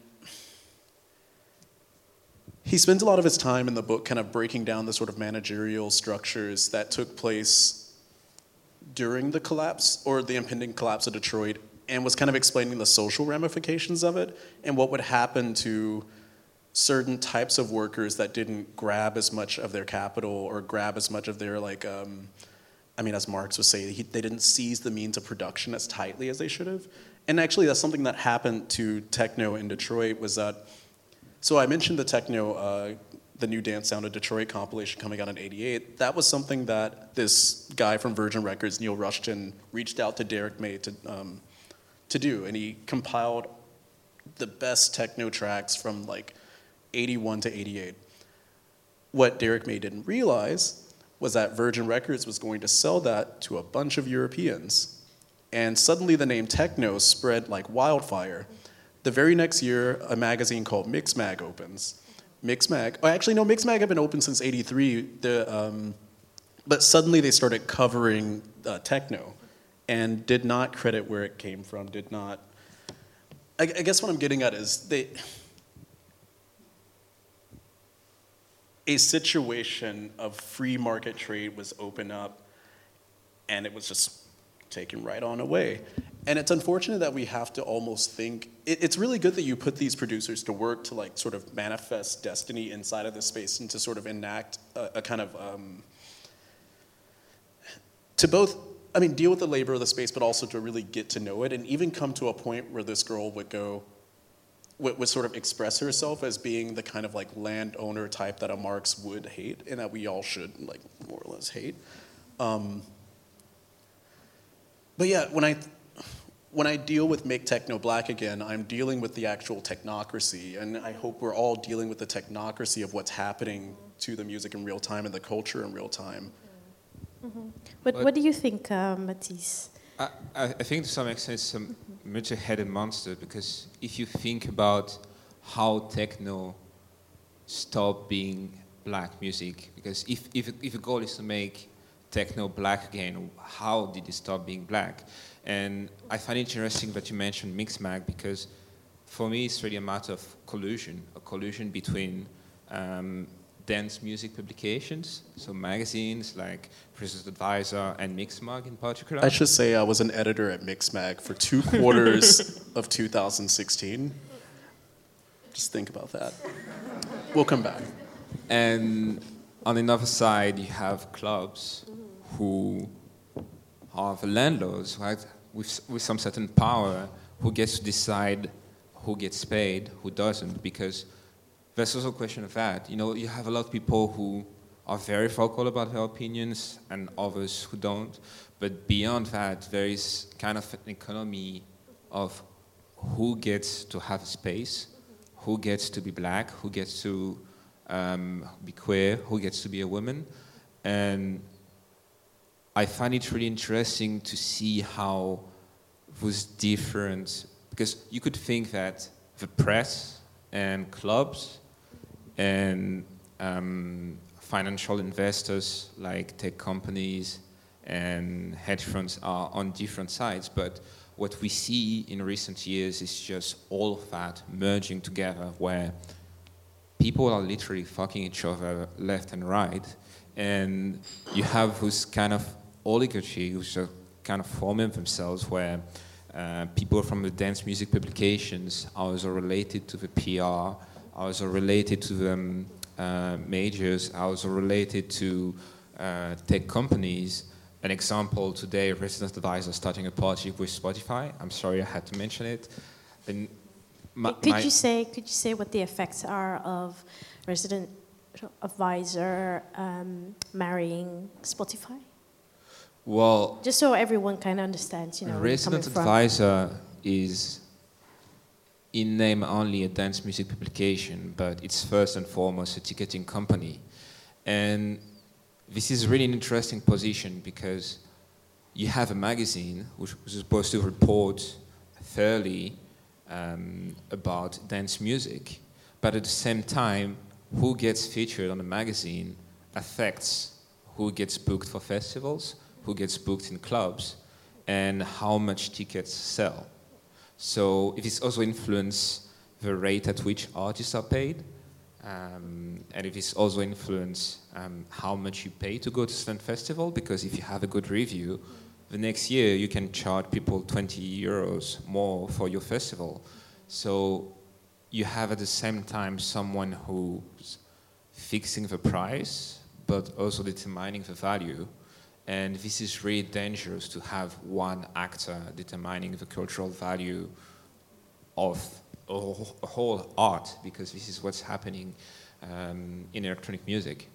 Speaker 5: he spends a lot of his time in the book kind of breaking down the sort of managerial structures that took place during the collapse or the impending collapse of Detroit, and was kind of explaining the social ramifications of it and what would happen to certain types of workers that didn't grab as much of their capital or grab as much of their, like, um, I mean, as Marx would say, he, they didn't seize the means of production as tightly as they should have. And actually that's something that happened to techno in Detroit was that, so I mentioned the techno, uh, the New Dance Sound of Detroit compilation coming out in eighty-eight. That was something that this guy from Virgin Records, Neil Rushton, reached out to Derek May to um, to do, and he compiled the best techno tracks from like eighty-one to eighty-eight. What Derek May didn't realize was that Virgin Records was going to sell that to a bunch of Europeans, and suddenly the name techno spread like wildfire. The very next year, a magazine called Mixmag opens. Mixmag, oh, actually no, Mixmag had been open since eighty-three, the, um, but suddenly they started covering uh, techno and did not credit where it came from, did not, I, I guess what I'm getting at is they, a situation of free market trade was opened up and it was just taken right on away. And it's unfortunate that we have to almost think, it, it's really good that you put these producers to work to like sort of manifest destiny inside of this space and to sort of enact a, a kind of, um, to both, I mean, deal with the labor of the space, but also to really get to know it and even come to a point where this girl would go, would, would sort of express herself as being the kind of like landowner type that a Marx would hate and that we all should like more or less hate. Um, but yeah, when I, When I deal with Make Techno Black Again, I'm dealing with the actual technocracy, and I hope we're all dealing with the technocracy of what's happening to the music in real time and the culture in real time.
Speaker 4: Mm-hmm. But what do you think, uh, Matisse?
Speaker 6: I, I think to some extent it's a much-headed monster, because if you think about how techno stopped being black music, because if, if, if the goal is to make techno black again, how did it stop being black? And I find it interesting that you mentioned Mixmag, because for me it's really a matter of collusion, a collusion between um, dance music publications, so magazines like Resident Advisor and Mixmag in particular.
Speaker 5: I should say I was an editor at Mixmag for two quarters of two thousand sixteen. Just think about that. We'll come back.
Speaker 6: And on the other side, you have clubs who are the landlords, right, with, with some certain power, who gets to decide who gets paid, who doesn't, because there's also a question of that. You know, you have a lot of people who are very vocal about their opinions and others who don't. But beyond that, there is kind of an economy of who gets to have a space, who gets to be black, who gets to um, be queer, who gets to be a woman. And I find it really interesting to see how those different, because you could think that the press and clubs and um, financial investors like tech companies and hedge funds are on different sides, but what we see in recent years is just all of that merging together, where people are literally fucking each other left and right, and you have this kind of oligarchy which are kind of forming themselves, where uh, people from the dance music publications are also related to the P R, are also related to the um, uh, majors, are also related to uh, tech companies. An example today, Resident Advisor starting a project with Spotify. I'm sorry I had to mention it. And my,
Speaker 4: could
Speaker 6: my
Speaker 4: you say could you say what the effects are of Resident Advisor um, marrying Spotify?
Speaker 6: Well,
Speaker 4: Just so everyone kind of understands, you know, where you're coming
Speaker 6: Resident
Speaker 4: from.
Speaker 6: Advisor is in name only a dance music publication, but it's first and foremost a ticketing company. And this is really an interesting position because you have a magazine which was supposed to report fairly um, about dance music, but at the same time, who gets featured on the magazine affects who gets booked for festivals, who gets booked in clubs, and how much tickets sell. So if it's also influence the rate at which artists are paid, um, and if it's also influence um, how much you pay to go to a certain festival, because if you have a good review, the next year you can charge people twenty euros more for your festival. So you have at the same time someone who's fixing the price, but also determining the value. And this is really dangerous to have one actor determining the cultural value of a whole art, because this is what's happening um, in electronic music.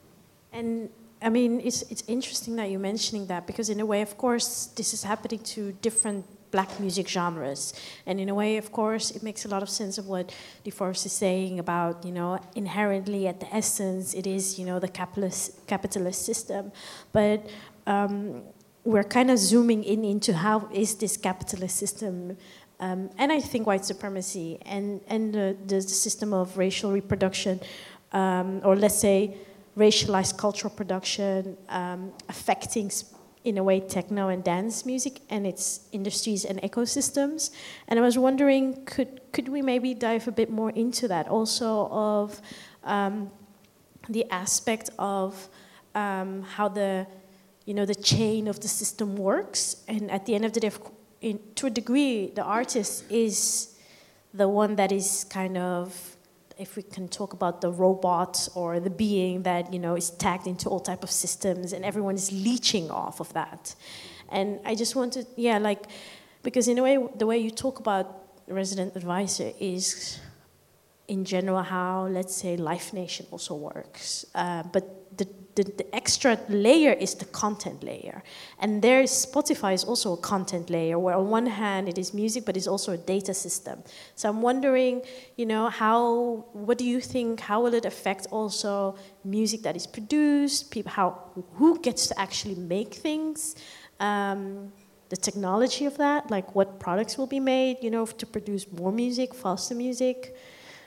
Speaker 4: And I mean, it's it's interesting that you're mentioning that, because in a way, of course, this is happening to different black music genres. And in a way, of course, it makes a lot of sense of what DeForest is saying about, you know, inherently at the essence, it is, you know, the capitalist, capitalist system. But um, we're kind of zooming in into how is this capitalist system, um, and I think white supremacy and, and the, the system of racial reproduction, um, or let's say racialized cultural production, um, affecting in a way techno and dance music and its industries and ecosystems. And I was wondering, could could we maybe dive a bit more into that also, of um, the aspect of um, how the you know the chain of the system works, and at the end of the day, in, to a degree, the artist is the one that is kind of, if we can talk about the robot or the being that, you know, is tagged into all type of systems, and everyone is leeching off of that. And I just wanted, yeah, like, because in a way, the way you talk about Resident Advisor is, in general, how, let's say, Live Nation also works. Uh, but the, the, the extra layer is the content layer. And there is, Spotify is also a content layer, where on one hand it is music, but it's also a data system. So I'm wondering, you know, how, what do you think, how will it affect also music that is produced, people, how, who gets to actually make things, um, the technology of that, like what products will be made, you know, to produce more music, faster music.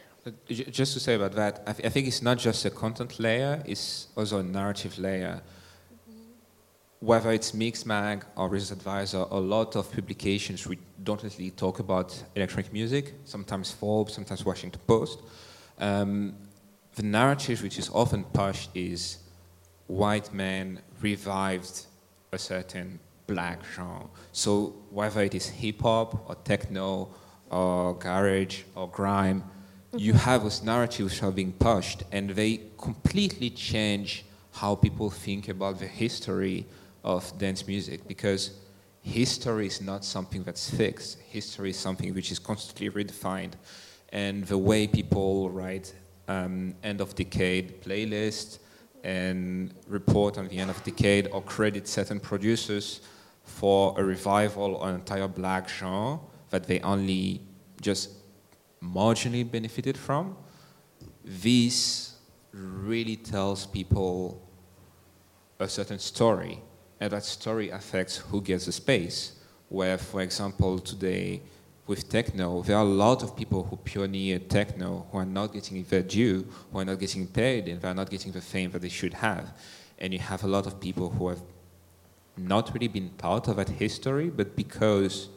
Speaker 6: Just to say about that, I, th- I think it's not just a content layer, it's also a narrative layer. Mm-hmm. Whether it's Mixmag or Resident Advisor, a lot of publications we don't really talk about electronic music, sometimes Forbes, sometimes Washington Post. Um, the narrative which is often pushed is white men revived a certain black genre. So whether it is hip hop or techno or garage or grime, mm-hmm. you have those narratives which are being pushed, and they completely change how people think about the history of dance music, because history is not something that's fixed. History is something which is constantly redefined. And the way people write um, end of decade playlists and report on the end of decade or credit certain producers for a revival on an entire black genre that they only just marginally benefited from, this really tells people a certain story. And that story affects who gets the space. Where, for example, today with techno, there are a lot of people who pioneered techno who are not getting their due, who are not getting paid, and they are not getting the fame that they should have. And you have a lot of people who have not really been part of that history, but because,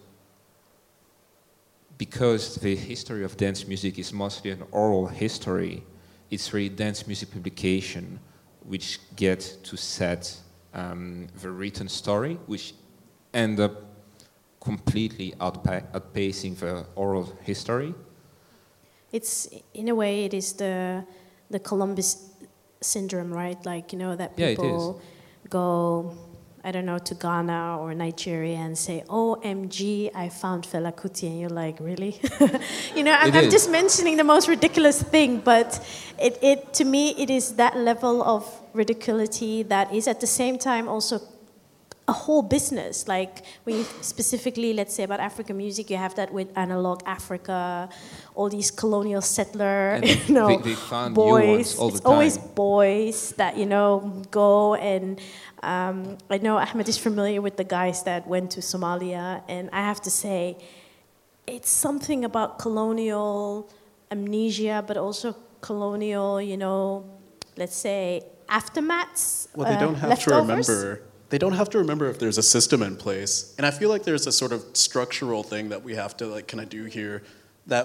Speaker 6: because the history of dance music is mostly an oral history, it's really dance music publication which get to set Um, the written story, which end up completely outpa- outpacing the oral history.
Speaker 4: It's, in a way, it is the the Columbus syndrome, right? Like, you know, that people
Speaker 6: yeah,
Speaker 4: go, I don't know, to Ghana or Nigeria and say, O M G, I found Fela Kuti, and you're like, really? You know, I'm, I'm just mentioning the most ridiculous thing, but it, it to me, it is that level of ridiculity that is at the same time also a whole business. Like, when you specifically, let's say, about African music, you have that with Analog Africa, all these colonial settler,
Speaker 6: and
Speaker 4: you know,
Speaker 6: they, they found
Speaker 4: boys.
Speaker 6: all
Speaker 4: it's
Speaker 6: the time.
Speaker 4: always boys that, you know, go and um, I know Ahmed is familiar with the guys that went to Somalia, and I have to say, it's something about colonial amnesia, but also colonial, you know, let's say, aftermaths.
Speaker 5: Well, they don't
Speaker 4: uh,
Speaker 5: have
Speaker 4: leftovers.
Speaker 5: to remember. They don't have to remember if there's a system in place, and I feel like there's a sort of structural thing that we have to like kind of do here that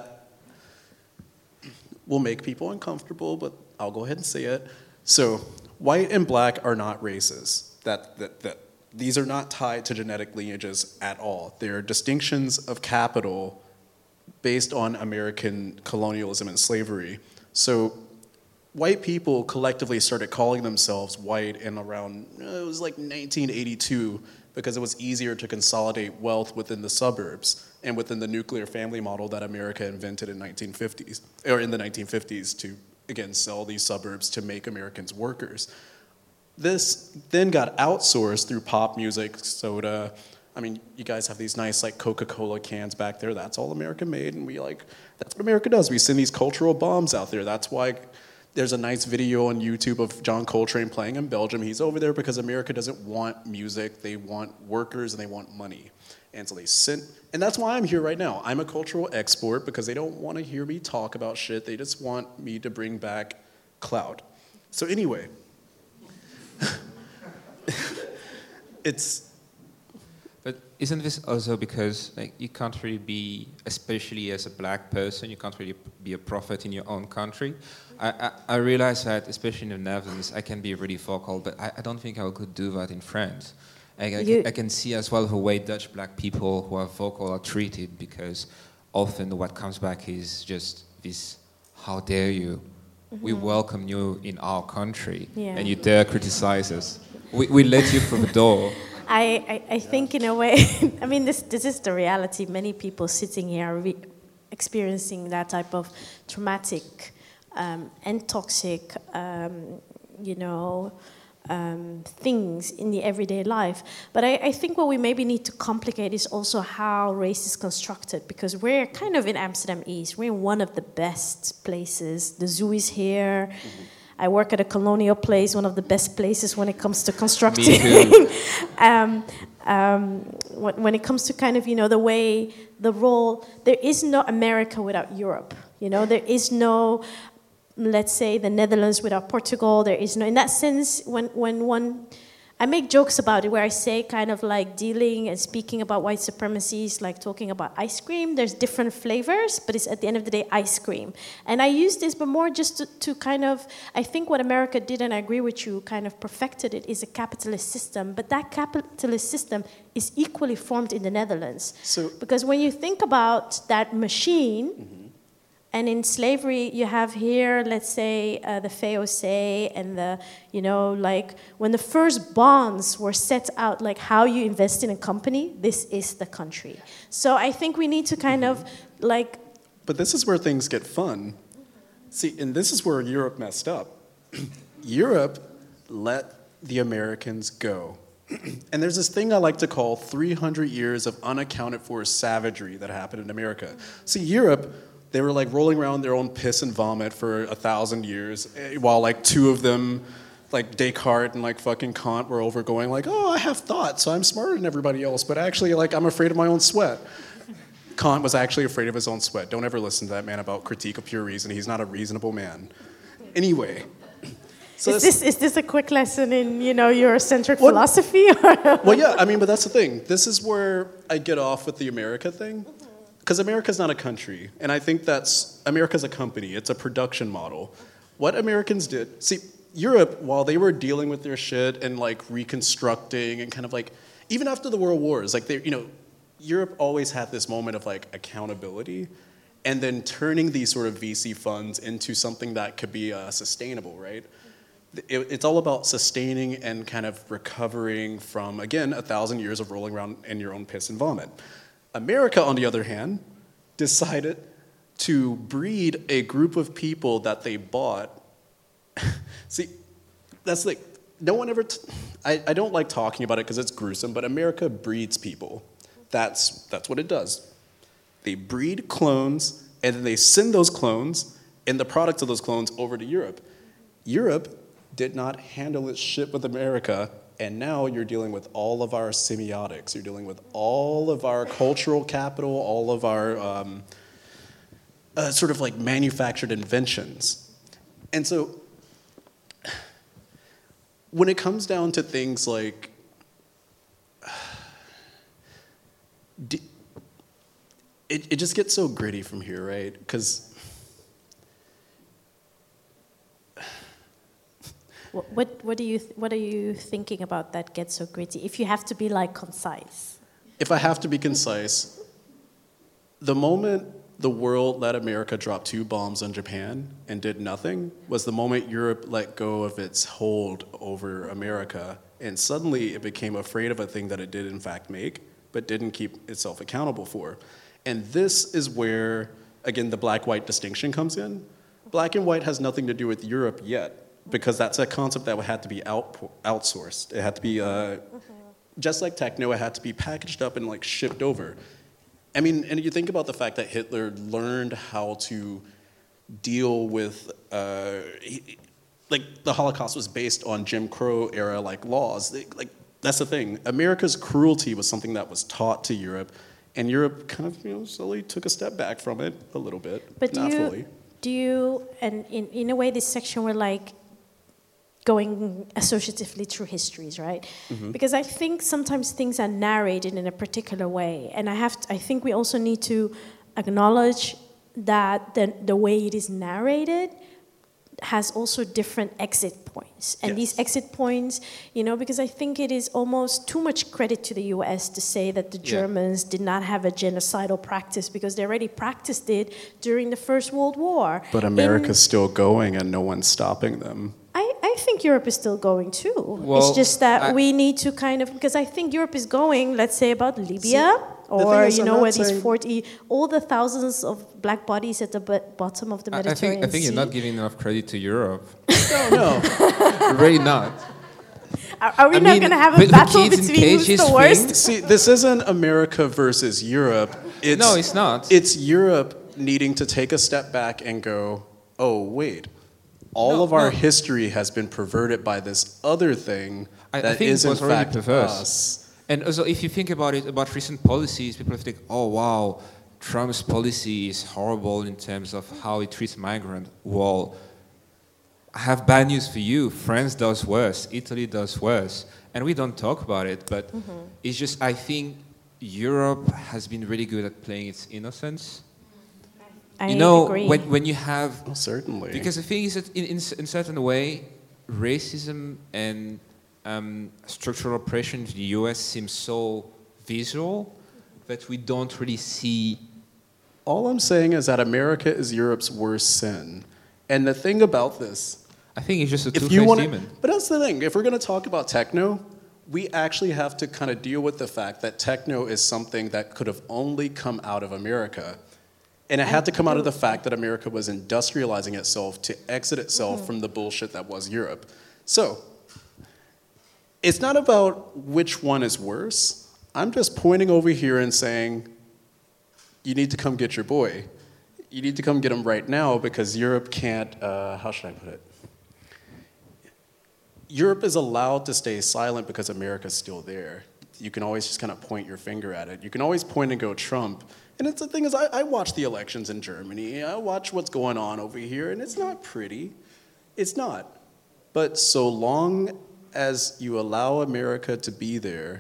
Speaker 5: will make people uncomfortable. But I'll go ahead and say it. So, white and black are not races. That that that these are not tied to genetic lineages at all. They're distinctions of capital based on American colonialism and slavery. So, white people collectively started calling themselves white in around, it was like nineteen eighty-two, because it was easier to consolidate wealth within the suburbs and within the nuclear family model that America invented in nineteen fifties, or in the nineteen fifties to, again, sell these suburbs to make Americans workers. This then got outsourced through pop music, soda. I mean, you guys have these nice like Coca-Cola cans back there. That's all American made, and we like, that's what America does. We send these cultural bombs out there. That's why there's a nice video on YouTube of John Coltrane playing in Belgium. He's over there because America doesn't want music. They want workers and they want money. And so they sent, and that's why I'm here right now. I'm a cultural export because they don't want to hear me talk about shit. They just want me to bring back clout. So anyway, it's...
Speaker 6: But isn't this also because like you can't really be, especially as a black person, you can't really be a prophet in your own country? I, I, I realize that, especially in the Netherlands, I can be really vocal, but I, I don't think I could do that in France. I, I, can, I can see as well the way Dutch black people who are vocal are treated, because often what comes back is just this, how dare you? Mm-hmm. We welcome you in our country, yeah. And you dare criticize us. We, we let you through the door.
Speaker 4: I, I, I think in a way, I mean, this this is the reality. Many people sitting here are re- experiencing that type of traumatic um, and toxic, um, you know, um, things in the everyday life. But I, I think what we maybe need to complicate is also how race is constructed, because we're kind of in Amsterdam East. We're in one of the best places. The zoo is here. Mm-hmm. I work at a colonial place, one of the best places when it comes to constructing. um, um, when, when it comes to kind of, you know, the way, the role, there is no America without Europe. You know, there is no, let's say, the Netherlands without Portugal. There is no, in that sense, when, when one I make jokes about it where I say kind of like dealing and speaking about white supremacy is like talking about ice cream. There's different flavors, but it's at the end of the day ice cream. And I use this, but more just to, to kind of, I think what America did, and I agree with you, kind of perfected it, is a capitalist system. But that capitalist system is equally formed in the Netherlands.
Speaker 5: So,
Speaker 4: because when you think about that machine, mm-hmm. and in slavery, you have here, let's say, uh, the V O C and the, you know, like when the first bonds were set out, like how you invest in a company, this is the country. So I think we need to kind of like.
Speaker 5: But this is where things get fun. See, and this is where Europe messed up. Europe let the Americans go. And there's this thing I like to call three hundred years of unaccounted for savagery that happened in America. See, Europe, they were like rolling around their own piss and vomit for a thousand years, while like two of them, like Descartes and like fucking Kant, were over going like, oh, I have thoughts, so I'm smarter than everybody else, but actually like I'm afraid of my own sweat. Kant was actually afraid of his own sweat. Don't ever listen to that man about Critique of Pure Reason. He's not a reasonable man. Anyway. So
Speaker 4: is this is this a quick lesson in, you know, Eurocentric
Speaker 5: well,
Speaker 4: philosophy?
Speaker 5: Well, yeah, I mean, but that's the thing. This is where I get off with the America thing. Because America's not a country, and I think that's, America's a company, it's a production model. What Americans did, see, Europe, while they were dealing with their shit and like reconstructing and kind of like, even after the World Wars, like they, you know, Europe always had this moment of like accountability and then turning these sort of V C funds into something that could be uh, sustainable, right? It, it's all about sustaining and kind of recovering from, again, a thousand years of rolling around in your own piss and vomit. America, on the other hand, decided to breed a group of people that they bought. See, that's like, no one ever, t- I, I don't like talking about it because it's gruesome, but America breeds people. That's, that's what it does. They breed clones, and then they send those clones and the products of those clones over to Europe. Europe did not handle its shit with America. And now you're dealing with all of our semiotics. You're dealing with all of our cultural capital, all of our um, uh, sort of like manufactured inventions. And so when it comes down to things like, it, it just gets so gritty from here, right? Because
Speaker 4: What what do you th- what are you thinking about that gets so gritty? If you have to be like concise.
Speaker 5: If I have to be concise, the moment the world let America drop two bombs on Japan and did nothing was the moment Europe let go of its hold over America, and suddenly it became afraid of a thing that it did in fact make, but didn't keep itself accountable for. And this is where, again, the black-white distinction comes in. Black and white has nothing to do with Europe yet, because that's a concept that had to be out, outsourced. It had to be, uh, mm-hmm. just like techno, it had to be packaged up and like shipped over. I mean, and you think about the fact that Hitler learned how to deal with, uh, he, like the Holocaust was based on Jim Crow era like laws. They, like that's the thing. America's cruelty was something that was taught to Europe, and Europe kind of, you know, slowly took a step back from it a little bit,
Speaker 4: but
Speaker 5: not
Speaker 4: do you,
Speaker 5: fully.
Speaker 4: Do you, and in, in a way, this section we're like going associatively through histories, right? Mm-hmm. Because I think sometimes things are narrated in a particular way, and I have to, I think we also need to acknowledge that the, the way it is narrated has also different exit points. And yes. These exit points, you know, because I think it is almost too much credit to the U S to say that the Germans yeah. did not have a genocidal practice, because they already practiced it during the First World War.
Speaker 5: But America's In, still going and no one's stopping them.
Speaker 4: I, I think Europe is still going too.
Speaker 6: Well,
Speaker 4: it's just that
Speaker 6: I,
Speaker 4: we need to kind of, because I think Europe is going, let's say about Libya, see, or is, you know, where these forty, all the thousands of black bodies at the b- bottom of the Mediterranean
Speaker 6: I think, I think
Speaker 4: Sea.
Speaker 6: you're not giving enough credit to Europe.
Speaker 5: no, no.
Speaker 6: Really not.
Speaker 4: Are, are we
Speaker 6: I
Speaker 4: not
Speaker 6: mean,
Speaker 4: going to have a battle between who's the worst?
Speaker 6: Thing?
Speaker 5: See, this isn't America versus Europe. It's,
Speaker 6: no, it's not.
Speaker 5: It's Europe needing to take a step back and go, oh, wait. All no, of our no. history has been perverted by this other thing
Speaker 6: I,
Speaker 5: that
Speaker 6: I think
Speaker 5: is
Speaker 6: it was
Speaker 5: in fact
Speaker 6: perverse.
Speaker 5: us.
Speaker 6: And also, if you think about it, about recent policies, people think, oh, wow, Trump's policy is horrible in terms of how he treats migrants. Well, I have bad news for you. France does worse. Italy does worse. and we don't talk about it, but mm-hmm. it's just, I think Europe has been really good at playing its innocence.
Speaker 4: I
Speaker 6: you know,
Speaker 4: agree.
Speaker 6: when when you have...
Speaker 5: Oh, certainly.
Speaker 6: Because the thing is that in, in, in a certain way, racism and um, structural oppression in the U S seems so visual that we don't really see...
Speaker 5: All I'm saying is that America is Europe's worst sin. And the thing about this...
Speaker 6: I think it's just a
Speaker 5: if you
Speaker 6: two-faced
Speaker 5: wanna,
Speaker 6: demon.
Speaker 5: But that's the thing. If we're going to talk about techno, we actually have to kind of deal with the fact that techno is something that could have only come out of America. And it had to come out of the fact that America was industrializing itself to exit itself mm-hmm. from the bullshit that was Europe. So, it's not about which one is worse. I'm just pointing over here and saying, you need to come get your boy. You need to come get him right now because Europe can't, uh, how should I put it? Europe is allowed to stay silent because America's still there. You can always just kind of point your finger at it. You can always point and go Trump. And it's the thing is, I, I watch the elections in Germany. I watch what's going on over here, and it's not pretty. It's not. But so long as you allow America to be there,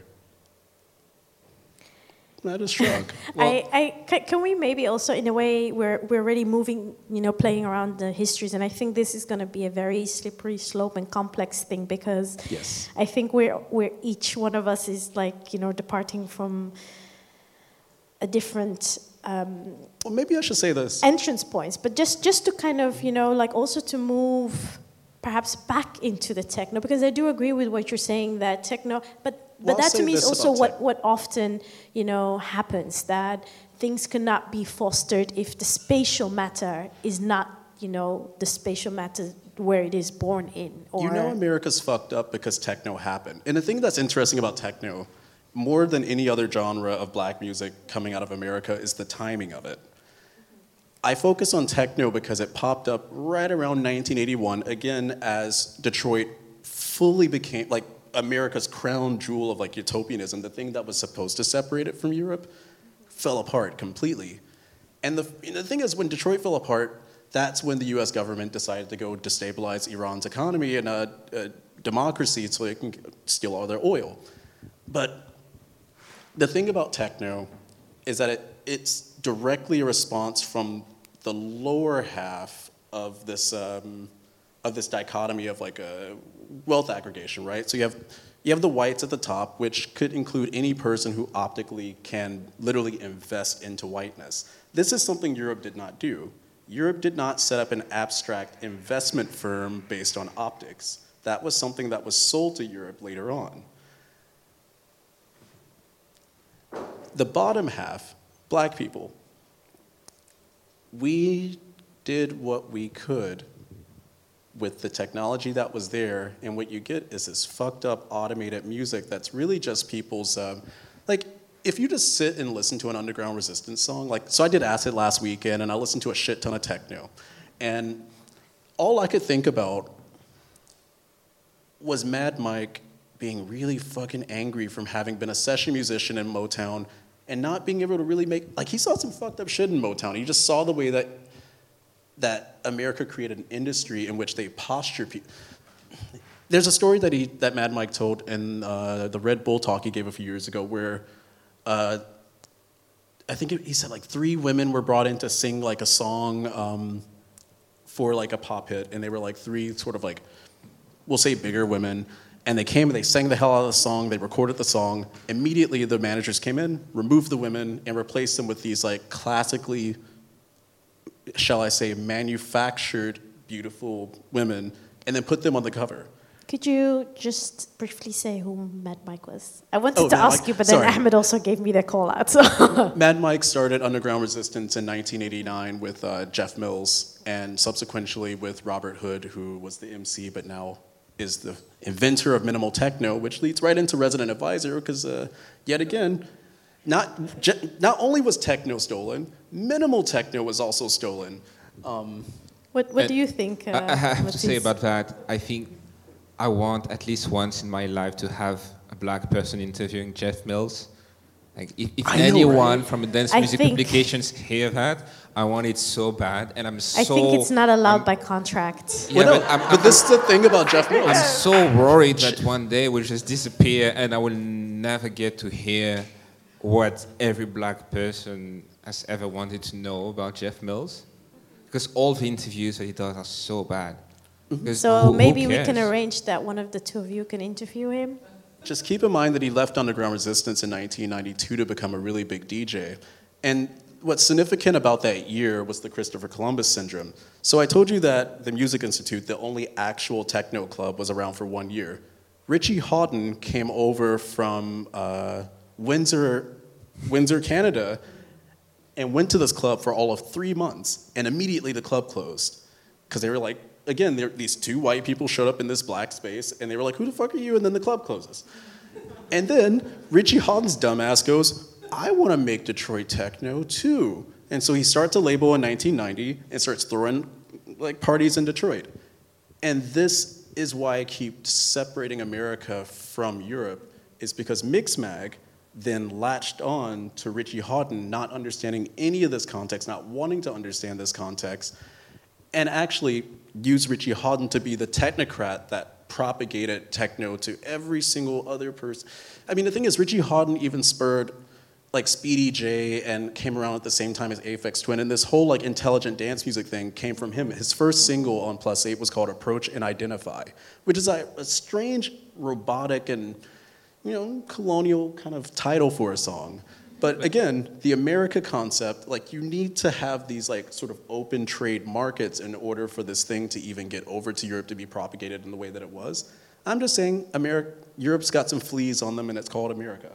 Speaker 5: that is shrug.
Speaker 4: Well, I, I, can, can we maybe also, in a way, we're we're already moving, you know, playing around the histories, and I think this is going to be a very slippery slope and complex thing because
Speaker 5: yes.
Speaker 4: I think we're we're each one of us is like, you know, departing from a different. Um,
Speaker 5: well, maybe I should say this.
Speaker 4: Entrance points, but just just to kind of, you know, like also to move perhaps back into the techno, because I do agree with what you're saying that techno, but. But
Speaker 5: well,
Speaker 4: that to me is also what,
Speaker 5: tech.
Speaker 4: what often, you know, happens, that things cannot be fostered if the spatial matter is not, you know, the spatial matter where it is born in. Or
Speaker 5: you know America's fucked up because techno happened. And the thing that's interesting about techno, more than any other genre of black music coming out of America, is the timing of it. I focus on techno because it popped up right around nineteen eighty-one, again, as Detroit fully became, like, America's crown jewel of like utopianism, the thing that was supposed to separate it from Europe, fell apart completely. And the, you know, the thing is, when Detroit fell apart, that's when the U S government decided to go destabilize Iran's economy and a, a democracy so they can steal all their oil. But the thing about techno is that it, it's directly a response from the lower half of this um, of this dichotomy of like a wealth aggregation, right? So you have you have the whites at the top, which could include any person who optically can literally invest into whiteness. This is something Europe did not do. Europe did not set up an abstract investment firm based on optics. That was something that was sold to Europe later on. The bottom half, black people, we did what we could with the technology that was there, and what you get is this fucked up automated music that's really just people's, um, like, if you just sit and listen to an underground resistance song, like, so I did Acid last weekend, and I listened to a shit ton of techno, and all I could think about was Mad Mike being really fucking angry from having been a session musician in Motown and not being able to really make, like, he saw some fucked up shit in Motown. He just saw the way that that America created an industry in which they posture people. There's a story that he that Mad Mike told in uh, the Red Bull talk he gave a few years ago where uh, I think it, he said like three women were brought in to sing like a song um, for like a pop hit, and they were like three sort of like, we'll say bigger women, and they came and they sang the hell out of the song, they recorded the song. Immediately the managers came in, removed the women, and replaced them with these like classically, shall I say, manufactured beautiful women, and then put them on the cover.
Speaker 4: Could you just briefly say who Mad Mike was? I wanted
Speaker 5: oh,
Speaker 4: to
Speaker 5: Mad
Speaker 4: ask
Speaker 5: Mike.
Speaker 4: you, but
Speaker 5: Sorry.
Speaker 4: then Ahmed also gave me the call out. So.
Speaker 5: Mad Mike started Underground Resistance in nineteen eighty-nine with uh, Jeff Mills, and subsequently with Robert Hood, who was the M C, but now is the inventor of minimal techno, which leads right into Resident Advisor, because uh, yet again, not not only was techno stolen, minimal techno was also stolen. Um,
Speaker 4: what what do you think? Uh,
Speaker 6: I, I have
Speaker 4: Matisse?
Speaker 6: to say about that, I think I want at least once in my life to have a black person interviewing Jeff Mills, Like if, if
Speaker 5: I know,
Speaker 6: anyone
Speaker 5: right?
Speaker 6: from the dance
Speaker 4: I
Speaker 6: music
Speaker 4: think-
Speaker 6: publications hear that, I want it so bad, and I'm so.
Speaker 4: I think it's not allowed
Speaker 6: I'm-
Speaker 4: by contract.
Speaker 6: Yeah,
Speaker 5: Well, no,
Speaker 6: but I'm,
Speaker 5: but
Speaker 6: I'm-
Speaker 5: this is the thing about Jeff Mills.
Speaker 6: I'm so worried that one day will just disappear, and I will never get to hear what every black person has ever wanted to know about Jeff Mills, because all the interviews that he does are so bad. Because
Speaker 4: So
Speaker 6: who- who
Speaker 4: maybe we can
Speaker 6: cares?
Speaker 4: arrange that one of the two of you can interview him.
Speaker 5: Just keep in mind that he left Underground Resistance in nineteen ninety-two to become a really big D J. And what's significant about that year was the Christopher Columbus syndrome. So I told you that the Music Institute, the only actual techno club, was around for one year. Richie Hawtin came over from uh, Windsor, Windsor, Canada, and went to this club for all of three months. And immediately the club closed. Because they were like, again, there, these two white people showed up in this black space, and they were like, who the fuck are you? And then the club closes. And then Richie Hawtin's dumbass goes, I want to make Detroit techno too. And so he starts a label in nineteen ninety and starts throwing like parties in Detroit. And this is why I keep separating America from Europe, is because Mixmag then latched on to Richie Hawtin not understanding any of this context, not wanting to understand this context, and actually used Richie Hawtin to be the technocrat that propagated techno to every single other person. I mean, the thing is, Richie Hawtin even spurred like Speedy J and came around at the same time as Aphex Twin, and this whole like intelligent dance music thing came from him. His first single on Plus Eight was called Approach and Identify, which is a, a strange, robotic, and you know, colonial kind of title for a song. But again, the America concept, like you need to have these like sort of open trade markets in order for this thing to even get over to Europe to be propagated in the way that it was. I'm just saying, America, Europe's got some fleas on them, and it's called America.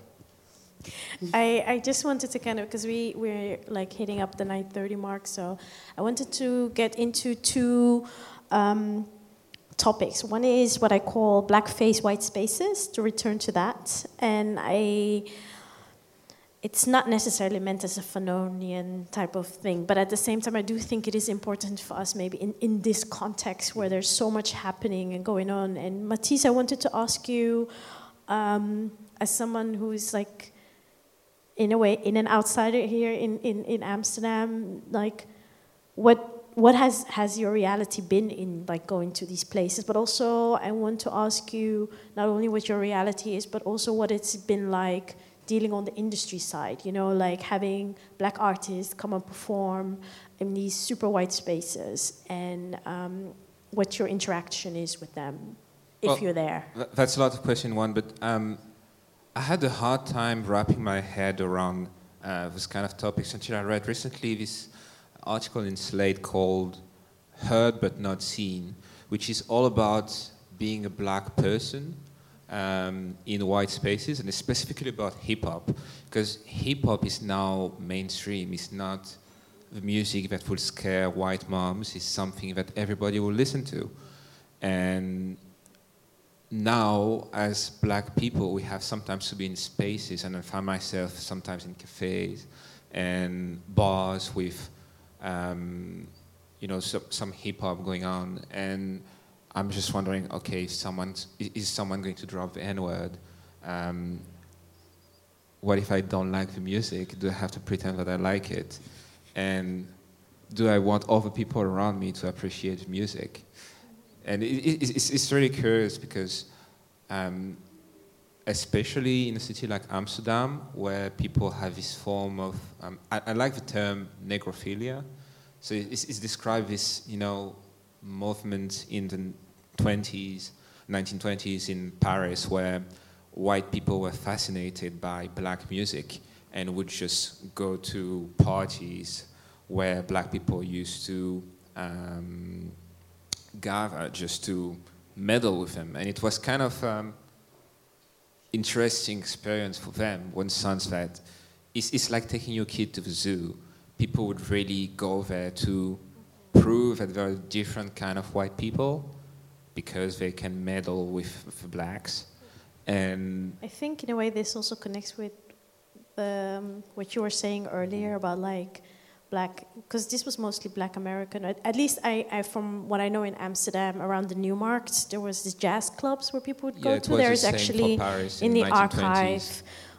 Speaker 4: I, I just wanted to kind of, because we, we're like hitting up the nine thirty mark, so I wanted to get into two um, topics. One is what I call blackface white spaces, to return to that. And I, it's not necessarily meant as a Fanonian type of thing, but at the same time, I do think it is important for us maybe in, in this context where there's so much happening and going on. And Matisse, I wanted to ask you, um, as someone who's like, in a way, in an outsider here in, in, in Amsterdam, like, what what has, has your reality been in, like, going to these places? But also, I want to ask you not only what your reality is, but also what it's been like dealing on the industry side, you know, like having black artists come and perform in these super white spaces, and um, what your interaction is with them, if
Speaker 6: Well,
Speaker 4: you're there.
Speaker 6: th- That's a lot of question one, but um, I had a hard time wrapping my head around uh, this kind of topics until I read recently this article in Slate called Heard But Not Seen, which is all about being a black person um, in white spaces, and specifically about hip-hop, because hip-hop is now mainstream. It's not the music that will scare white moms. It's something that everybody will listen to. And now, as black people, we have sometimes to be in spaces, and I find myself sometimes in cafes and bars with, um, you know, so, some hip hop going on, and I'm just wondering, okay, someone's, is someone going to drop the N-word? Um, what if I don't like the music? Do I have to pretend that I like it? And do I want other people around me to appreciate the music? And it, it, it's, it's really curious because, um, especially in a city like Amsterdam, where people have this form of, um, I, I like the term negrophilia. So it's, it's described this, you know, movement in the twenties, nineteen twenties in Paris, where white people were fascinated by black music and would just go to parties where black people used to um, gather just to meddle with them. And it was kind of um, interesting experience for them when sense that it's, it's like taking your kid to the zoo. People would really go there to prove that there are different kind of white people because they can meddle with, with the blacks. And
Speaker 4: I think in a way this also connects with um, what you were saying earlier about like black, because this was mostly black American. At, at least I, I, from what I know in Amsterdam, around the Newmarkt, there was these jazz clubs where people would go
Speaker 6: yeah, it
Speaker 4: to.
Speaker 6: was
Speaker 4: There's
Speaker 6: the same
Speaker 4: actually
Speaker 6: for Paris
Speaker 4: in,
Speaker 6: in
Speaker 4: the
Speaker 6: nineteen twenties.
Speaker 4: archive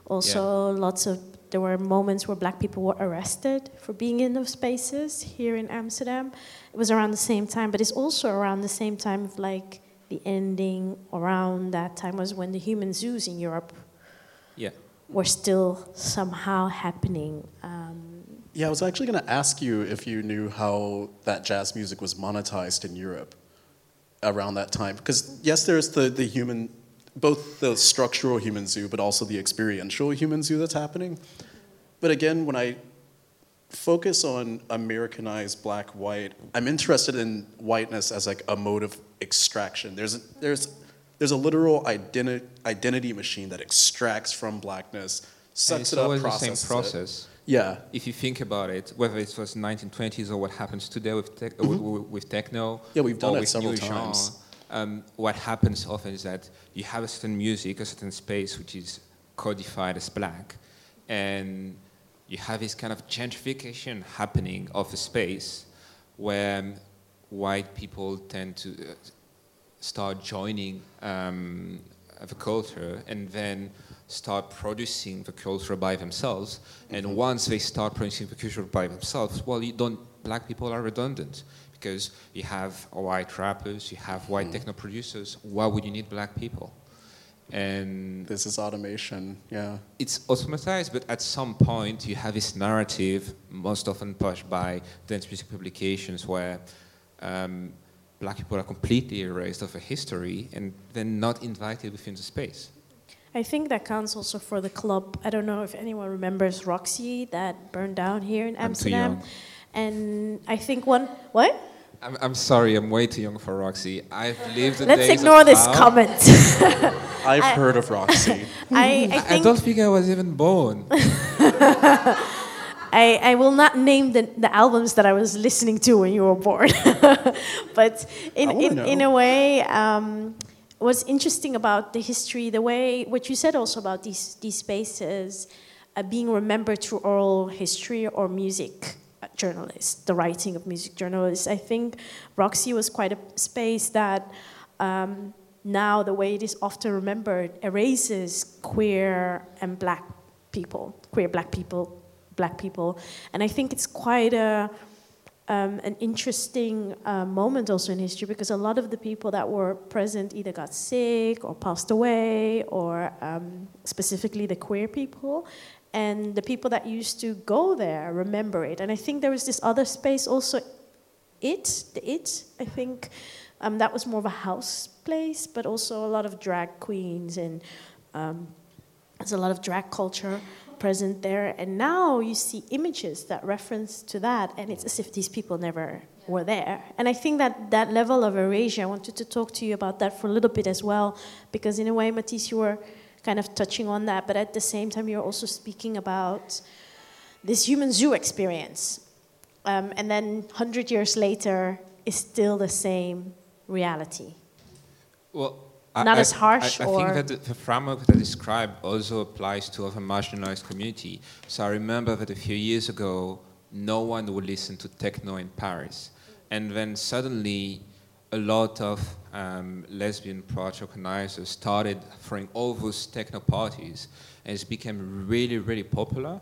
Speaker 4: Also, lots of there were moments where black people were arrested for being in those spaces here in Amsterdam. It was around the same time, but it's also around the same time of like the ending. Around that time was when the human zoos in Europe
Speaker 6: Yeah.
Speaker 4: were still somehow happening. Um,
Speaker 5: Yeah, I was actually going to ask you if you knew how that jazz music was monetized in Europe around that time. Because, yes, there's the, the human, both the structural human zoo, but also the experiential human zoo that's happening. But again, when I focus on Americanized black, white, I'm interested in whiteness as like a mode of extraction. There's a, there's, there's a literal identi- identity machine that extracts from blackness,
Speaker 6: And
Speaker 5: sucks
Speaker 6: it's
Speaker 5: it up,
Speaker 6: always the
Speaker 5: processes
Speaker 6: same process.
Speaker 5: it. Yeah.
Speaker 6: If you think about it, whether it was nineteen twenties or what happens today with, tech, uh, with, with techno,
Speaker 5: Yeah, we've done
Speaker 6: or
Speaker 5: it
Speaker 6: with
Speaker 5: several
Speaker 6: new
Speaker 5: times.
Speaker 6: genre, um, what happens often is that you have a certain music, a certain space which is codified as black, and you have this kind of gentrification happening of a space where um, white people tend to uh, start joining um, the culture and then start producing the culture by themselves. And
Speaker 5: Mm-hmm.
Speaker 6: once they start producing the culture by themselves, well, you don't. Black people are redundant because you have white rappers, you have white
Speaker 5: Mm.
Speaker 6: techno producers. Why would you need black people? And
Speaker 5: This is automation, yeah.
Speaker 6: it's automatized, but at some point you have this narrative, most often pushed by dance music publications, where um, black people are completely erased of a history and then not invited within the space.
Speaker 4: I think that counts also for the club. I don't know if anyone remembers Roxy that burned down here in
Speaker 6: I'm too
Speaker 4: Amsterdam.
Speaker 6: young.
Speaker 4: And I think one what?
Speaker 6: I'm, I'm sorry, I'm way too young for Roxy. I've lived the
Speaker 4: Let's
Speaker 6: days
Speaker 4: ignore
Speaker 6: of
Speaker 4: this
Speaker 6: Pau.
Speaker 4: comment.
Speaker 5: I've
Speaker 4: I-
Speaker 5: heard of Roxy.
Speaker 4: I, I
Speaker 6: I
Speaker 4: think
Speaker 6: don't think I was even born.
Speaker 4: I, I will not name the, the albums that I was listening to when you were born. But in,
Speaker 5: I wanna
Speaker 4: in,
Speaker 5: know.
Speaker 4: in a way, um, what's interesting about the history, the way, what you said also about these, these spaces uh, being remembered through oral history or music uh, journalists, the writing of music journalists. I think Roxy was quite a space that um, now the way it is often remembered erases queer and black people, queer black people, black people. And I think it's quite a, um, an interesting uh, moment also in history, because a lot of the people that were present either got sick or passed away, or um, specifically the queer people. And the people that used to go there remember it. And I think there was this other space also, It, the It, I think, um, that was more of a house place, but also a lot of drag queens, and um, there's a lot of drag culture present there. And now you see images that reference to that, and it's as if these people never were there. And I think that that level of erasure, I wanted to talk to you about that for a little bit as well, because in a way, Matisse, you were kind of touching on that, but at the same time, you're also speaking about this human zoo experience. Um, and then one hundred years later, is still the same reality.
Speaker 6: Well,
Speaker 4: Not
Speaker 6: I,
Speaker 4: as harsh
Speaker 6: I, I
Speaker 4: or-
Speaker 6: think that the, the framework that I described also applies to other marginalized community. So I remember that a few years ago, no one would listen to techno in Paris. And then suddenly, a lot of um, lesbian project organizers started throwing all those techno parties, and it became really, really popular.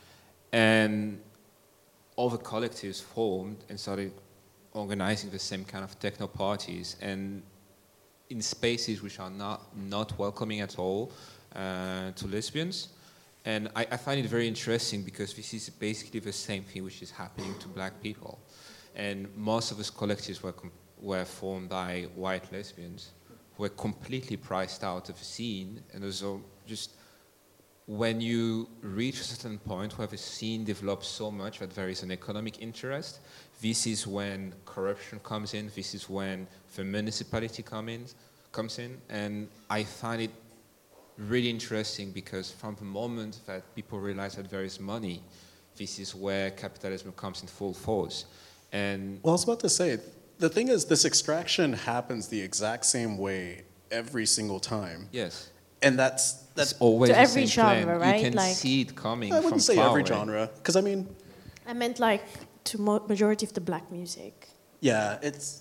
Speaker 6: And all the collectives formed and started organizing the same kind of techno parties, and in spaces which are not, not welcoming at all uh, to lesbians. And I, I find it very interesting because this is basically the same thing which is happening to black people. And most of these collectives were, com- were formed by white lesbians who were completely priced out of the scene. And also just when you reach a certain point where the scene develops so much that there is an economic interest, this is when corruption comes in, this is when the municipality come in, comes in, and I find it really interesting because from the moment that people realize that there is money, this is where capitalism comes in full force. And
Speaker 5: Well, I was about to say, the thing is, this extraction happens the exact same way every single time.
Speaker 6: yes,
Speaker 5: And that's, that's
Speaker 6: it's always
Speaker 4: To
Speaker 6: the
Speaker 4: every
Speaker 6: same plan.
Speaker 4: genre, right?
Speaker 6: You can
Speaker 4: Like-
Speaker 6: see it coming
Speaker 5: I
Speaker 6: from
Speaker 5: wouldn't say
Speaker 6: far
Speaker 5: every
Speaker 6: away.
Speaker 5: genre, because I mean,
Speaker 4: I meant like to mo- majority of the black music.
Speaker 5: yeah, it's,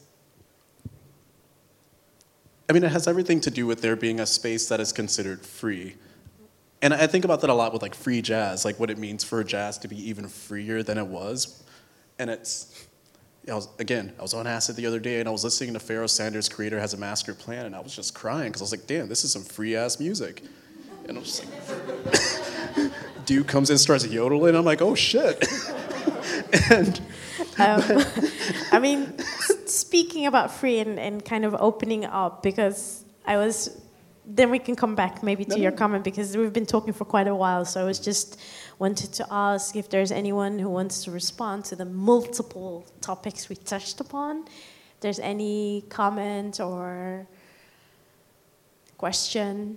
Speaker 5: I mean, it has everything to do with there being a space that is considered free. And I think about that a lot with like free jazz, like what it means for jazz to be even freer than it was. And it's, I was, again, I was on acid the other day and I was listening to Pharoah Sanders' Creator Has a Master Plan, and I was just crying because I was like, damn, this is some free ass music. And I was just like, dude comes in, starts yodeling, I'm like, oh shit. and
Speaker 4: um, I mean, speaking about free and, and kind of opening up, because I was, then we can come back maybe to your comment, because we've been talking for quite a while, so I was just wanted to ask if there's anyone who wants to respond to the multiple topics we touched upon. If there's any comment or question.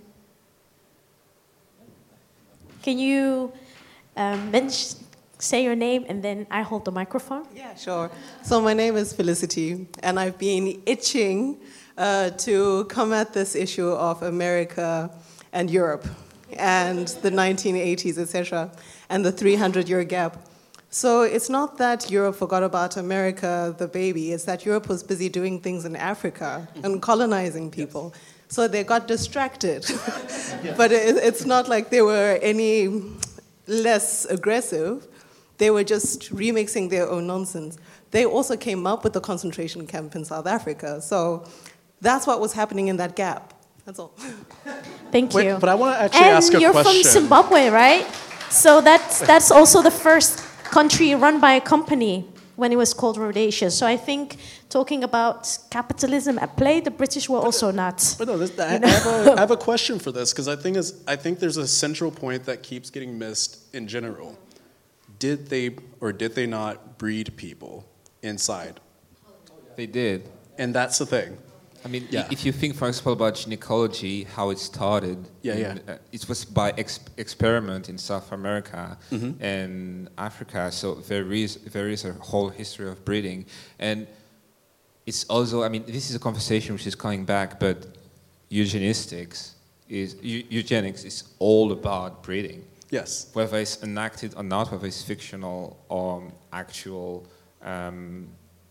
Speaker 4: Can you um, mention, say your name and then I hold the microphone?
Speaker 7: Yeah, sure. So my name is Felicity, and I've been itching uh, to come at this issue of America and Europe and the nineteen eighties, et cetera, and the three hundred year gap. So it's not that Europe forgot about America, the baby, it's that Europe was busy doing things in Africa and colonizing people. Yes. So they got distracted. But it, it's not like they were any less aggressive. They were just remixing their own nonsense. They also came up with the concentration camp in South Africa. So that's what was happening in that gap. That's all.
Speaker 4: Thank
Speaker 5: Wait,
Speaker 4: you.
Speaker 5: but I want to actually
Speaker 4: and
Speaker 5: ask a
Speaker 4: you're
Speaker 5: question.
Speaker 4: from Zimbabwe, right? So that's that's also the first country run by a company when it was called Rhodesia. So I think talking about capitalism at play, the British were but also not.
Speaker 5: But no, this, I, I, have a, I have a question for this, because I think is I think there's a central point that keeps getting missed in general. Did they or did they not breed people inside?
Speaker 6: They did.
Speaker 5: And that's the thing.
Speaker 6: I mean,
Speaker 5: yeah.
Speaker 6: if you think, for example, about gynecology, how it started,
Speaker 5: yeah,
Speaker 6: in,
Speaker 5: yeah.
Speaker 6: Uh, it was by ex experiment in South America
Speaker 5: mm-hmm.
Speaker 6: and Africa. So there is there is a whole history of breeding, and it's also, I mean, this is a conversation which is coming back, but eugenistics is eu eugenics is all about breeding.
Speaker 5: Yes.
Speaker 6: Whether it's enacted or not, whether it's fictional or actual. Um,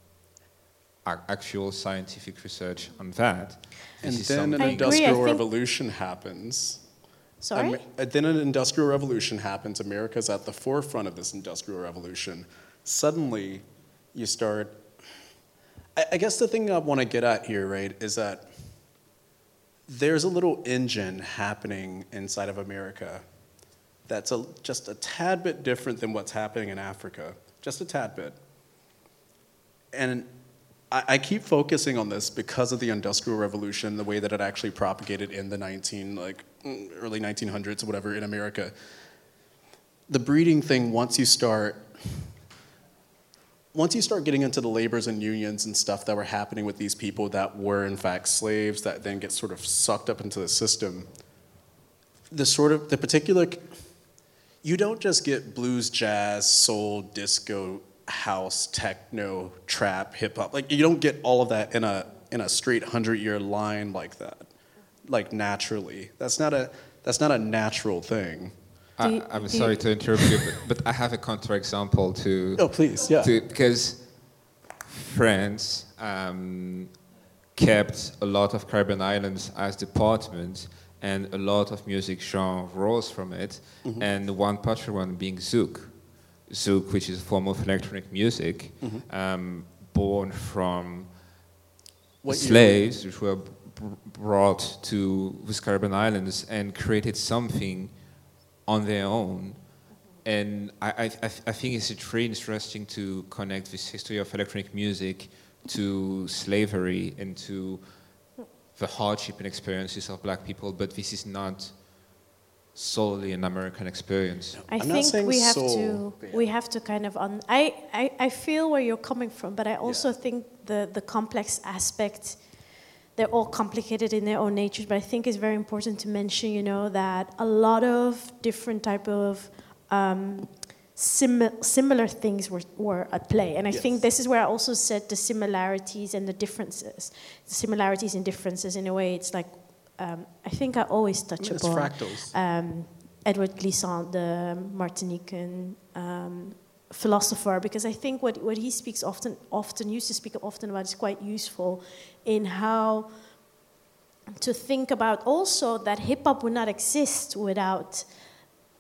Speaker 6: actual scientific research on that.
Speaker 5: And
Speaker 6: this
Speaker 5: then an
Speaker 4: I
Speaker 5: industrial
Speaker 4: agree,
Speaker 5: revolution happens.
Speaker 4: Sorry?
Speaker 5: Um, then an industrial revolution happens. America's at the forefront of this industrial revolution. Suddenly, you start... I, I guess the thing I want to get at here, right, is that there's a little engine happening inside of America that's a, just a tad bit different than what's happening in Africa. Just a tad bit. And I keep focusing on this because of the Industrial Revolution, the way that it actually propagated in the nineteen, like early nineteen hundreds or whatever in America. The breeding thing, once you start, once you start getting into the labors and unions and stuff that were happening with these people that were in fact slaves that then get sort of sucked up into the system, the sort of, the particular, you don't just get blues, jazz, soul, disco, house, techno, trap, hip hop. Like you don't get all of that in a in a straight hundred year line like that, like naturally. That's not a that's not a natural thing.
Speaker 6: I,
Speaker 4: you,
Speaker 6: I'm sorry
Speaker 4: you,
Speaker 6: to interrupt you, but, but I have a counterexample to.
Speaker 5: Oh please, yeah.
Speaker 6: To, because France um, kept a lot of Caribbean islands as departments, and a lot of music genre rose from it, mm-hmm. and one particular one being zouk. Zouk, which is a form of electronic music, mm-hmm. um, born from what slaves, which were b brought to the Caribbean islands and created something on their own. And I, I, I think it's very interesting to connect this history of electronic music to slavery and to the hardship and experiences of black people, but this is not solely an American experience.
Speaker 4: I
Speaker 5: I'm
Speaker 4: think we have
Speaker 5: soul.
Speaker 4: to we have to kind of un I, I I feel where you're coming from, but I also
Speaker 5: yeah.
Speaker 4: think the the complex aspect, they're all complicated in their own natures, but I think it's very important to mention, you know, that a lot of different type of um, sim similar things were, were at play. And I yes. think this is where I also said the similarities and the differences. The similarities and differences, in a way, it's like, um, I think I always touch
Speaker 5: I mean,
Speaker 4: upon
Speaker 5: fractals.
Speaker 4: Um, Edward Glissant, the Martinican um, philosopher, because I think what, what he speaks often, often used to speak often about is quite useful in how to think about also that hip-hop would not exist without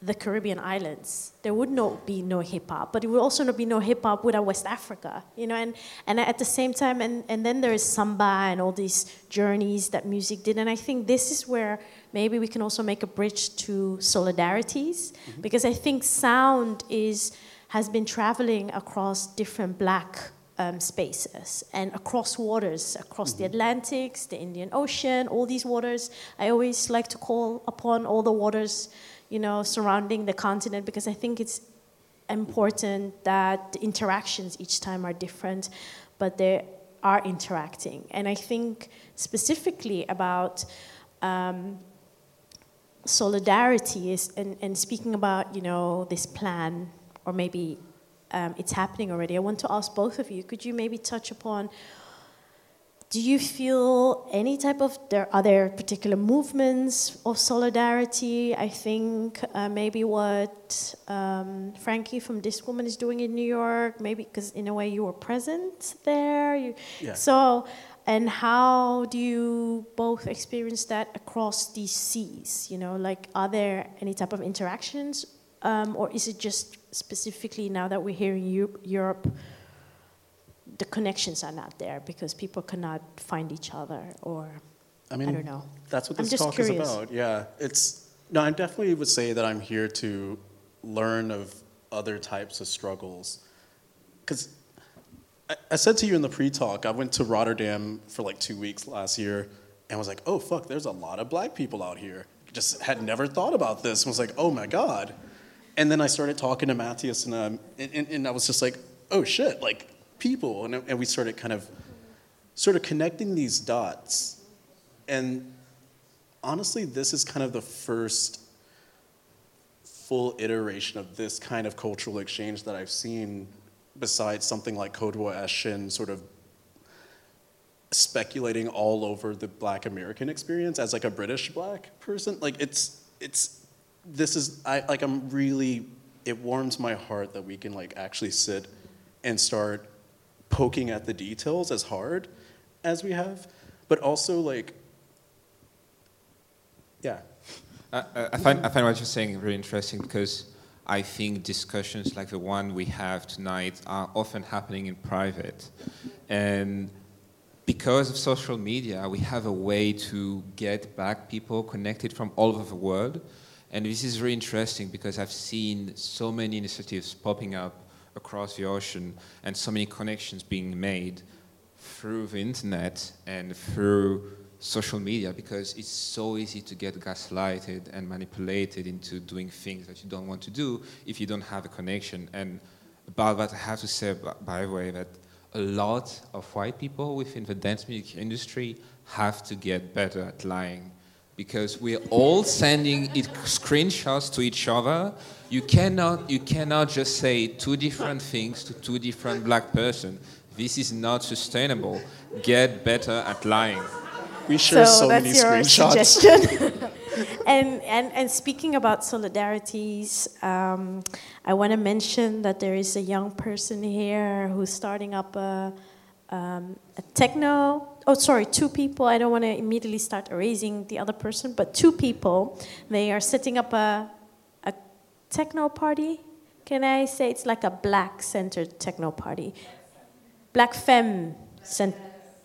Speaker 4: the Caribbean islands, there would not be no hip hop, but it would also not be no hip hop without West Africa, you know. And, and at the same time, and, and then there is samba and all these journeys that music did. And I think this is where maybe we can also make a bridge to solidarities, mm-hmm. because I think sound is has been traveling across different black um, spaces and across waters, across mm-hmm. the Atlantics, the Indian Ocean, all these waters. I always like to call upon all the waters, you know, surrounding the continent, because I think it's important that the interactions each time are different, but they are interacting. And I think specifically about um, solidarity is, and, and speaking about, you know, this plan, or maybe um, it's happening already. I want to ask both of you, could you maybe touch upon, do you feel any type of, there are there particular movements of solidarity? I think uh, maybe what um, Frankie from This Woman is doing in New York, maybe because in a way you were present there. You,
Speaker 5: yeah.
Speaker 4: So, and how do you both experience that across these seas? You know, like, are there any type of interactions, um, or is it just specifically now that we're here in Eu- Europe, the connections are not there because people cannot find each other, or
Speaker 5: I mean,
Speaker 4: I don't know.
Speaker 5: That's what
Speaker 4: I'm
Speaker 5: this
Speaker 4: just
Speaker 5: talk
Speaker 4: curious.
Speaker 5: is about. Yeah, it's no. I definitely would say that I'm here to learn of other types of struggles, because I, I said to you in the pre-talk, I went to Rotterdam for like two weeks last year, and was like, oh fuck, there's a lot of black people out here. Just had never thought about this, and was like, oh my god. And then I started talking to Matthias, and um, and, and, and I was just like, oh shit, like. People, and, and we started kind of sort of connecting these dots. And honestly, this is kind of the first full iteration of this kind of cultural exchange that I've seen, besides something like Kodwa Eshin sort of speculating all over the Black American experience as like a British Black person. Like it's it's this is I like I'm really it warms my heart that we can like actually sit and start poking at the details as hard as we have, but also like, yeah.
Speaker 6: I, I find I find what you're saying really interesting, because I think discussions like the one we have tonight are often happening in private, and because of social media, we have a way to get back people connected from all over the world, and this is really interesting because I've seen so many initiatives popping up across the ocean, and so many connections being made through the internet and through social media, because it's so easy to get gaslighted and manipulated into doing things that you don't want to do if you don't have a connection. And about that, I have to say, by the way, that a lot of white people within the dance music industry have to get better at lying, because we're all sending it screenshots to each other. You cannot, you cannot just say two different things to two different black persons. This is not sustainable. Get better at lying.
Speaker 5: We share so,
Speaker 4: so
Speaker 5: many
Speaker 4: that's your
Speaker 5: screenshots.
Speaker 4: Suggestion. and, and and speaking about solidarities, um, I want to mention that there is a young person here who's starting up a, um, a techno. Oh, sorry, two people. I don't want to immediately start erasing the other person, but two people. They are setting up a a techno party. Can I say it's like a black-centered techno party? Black femme cent-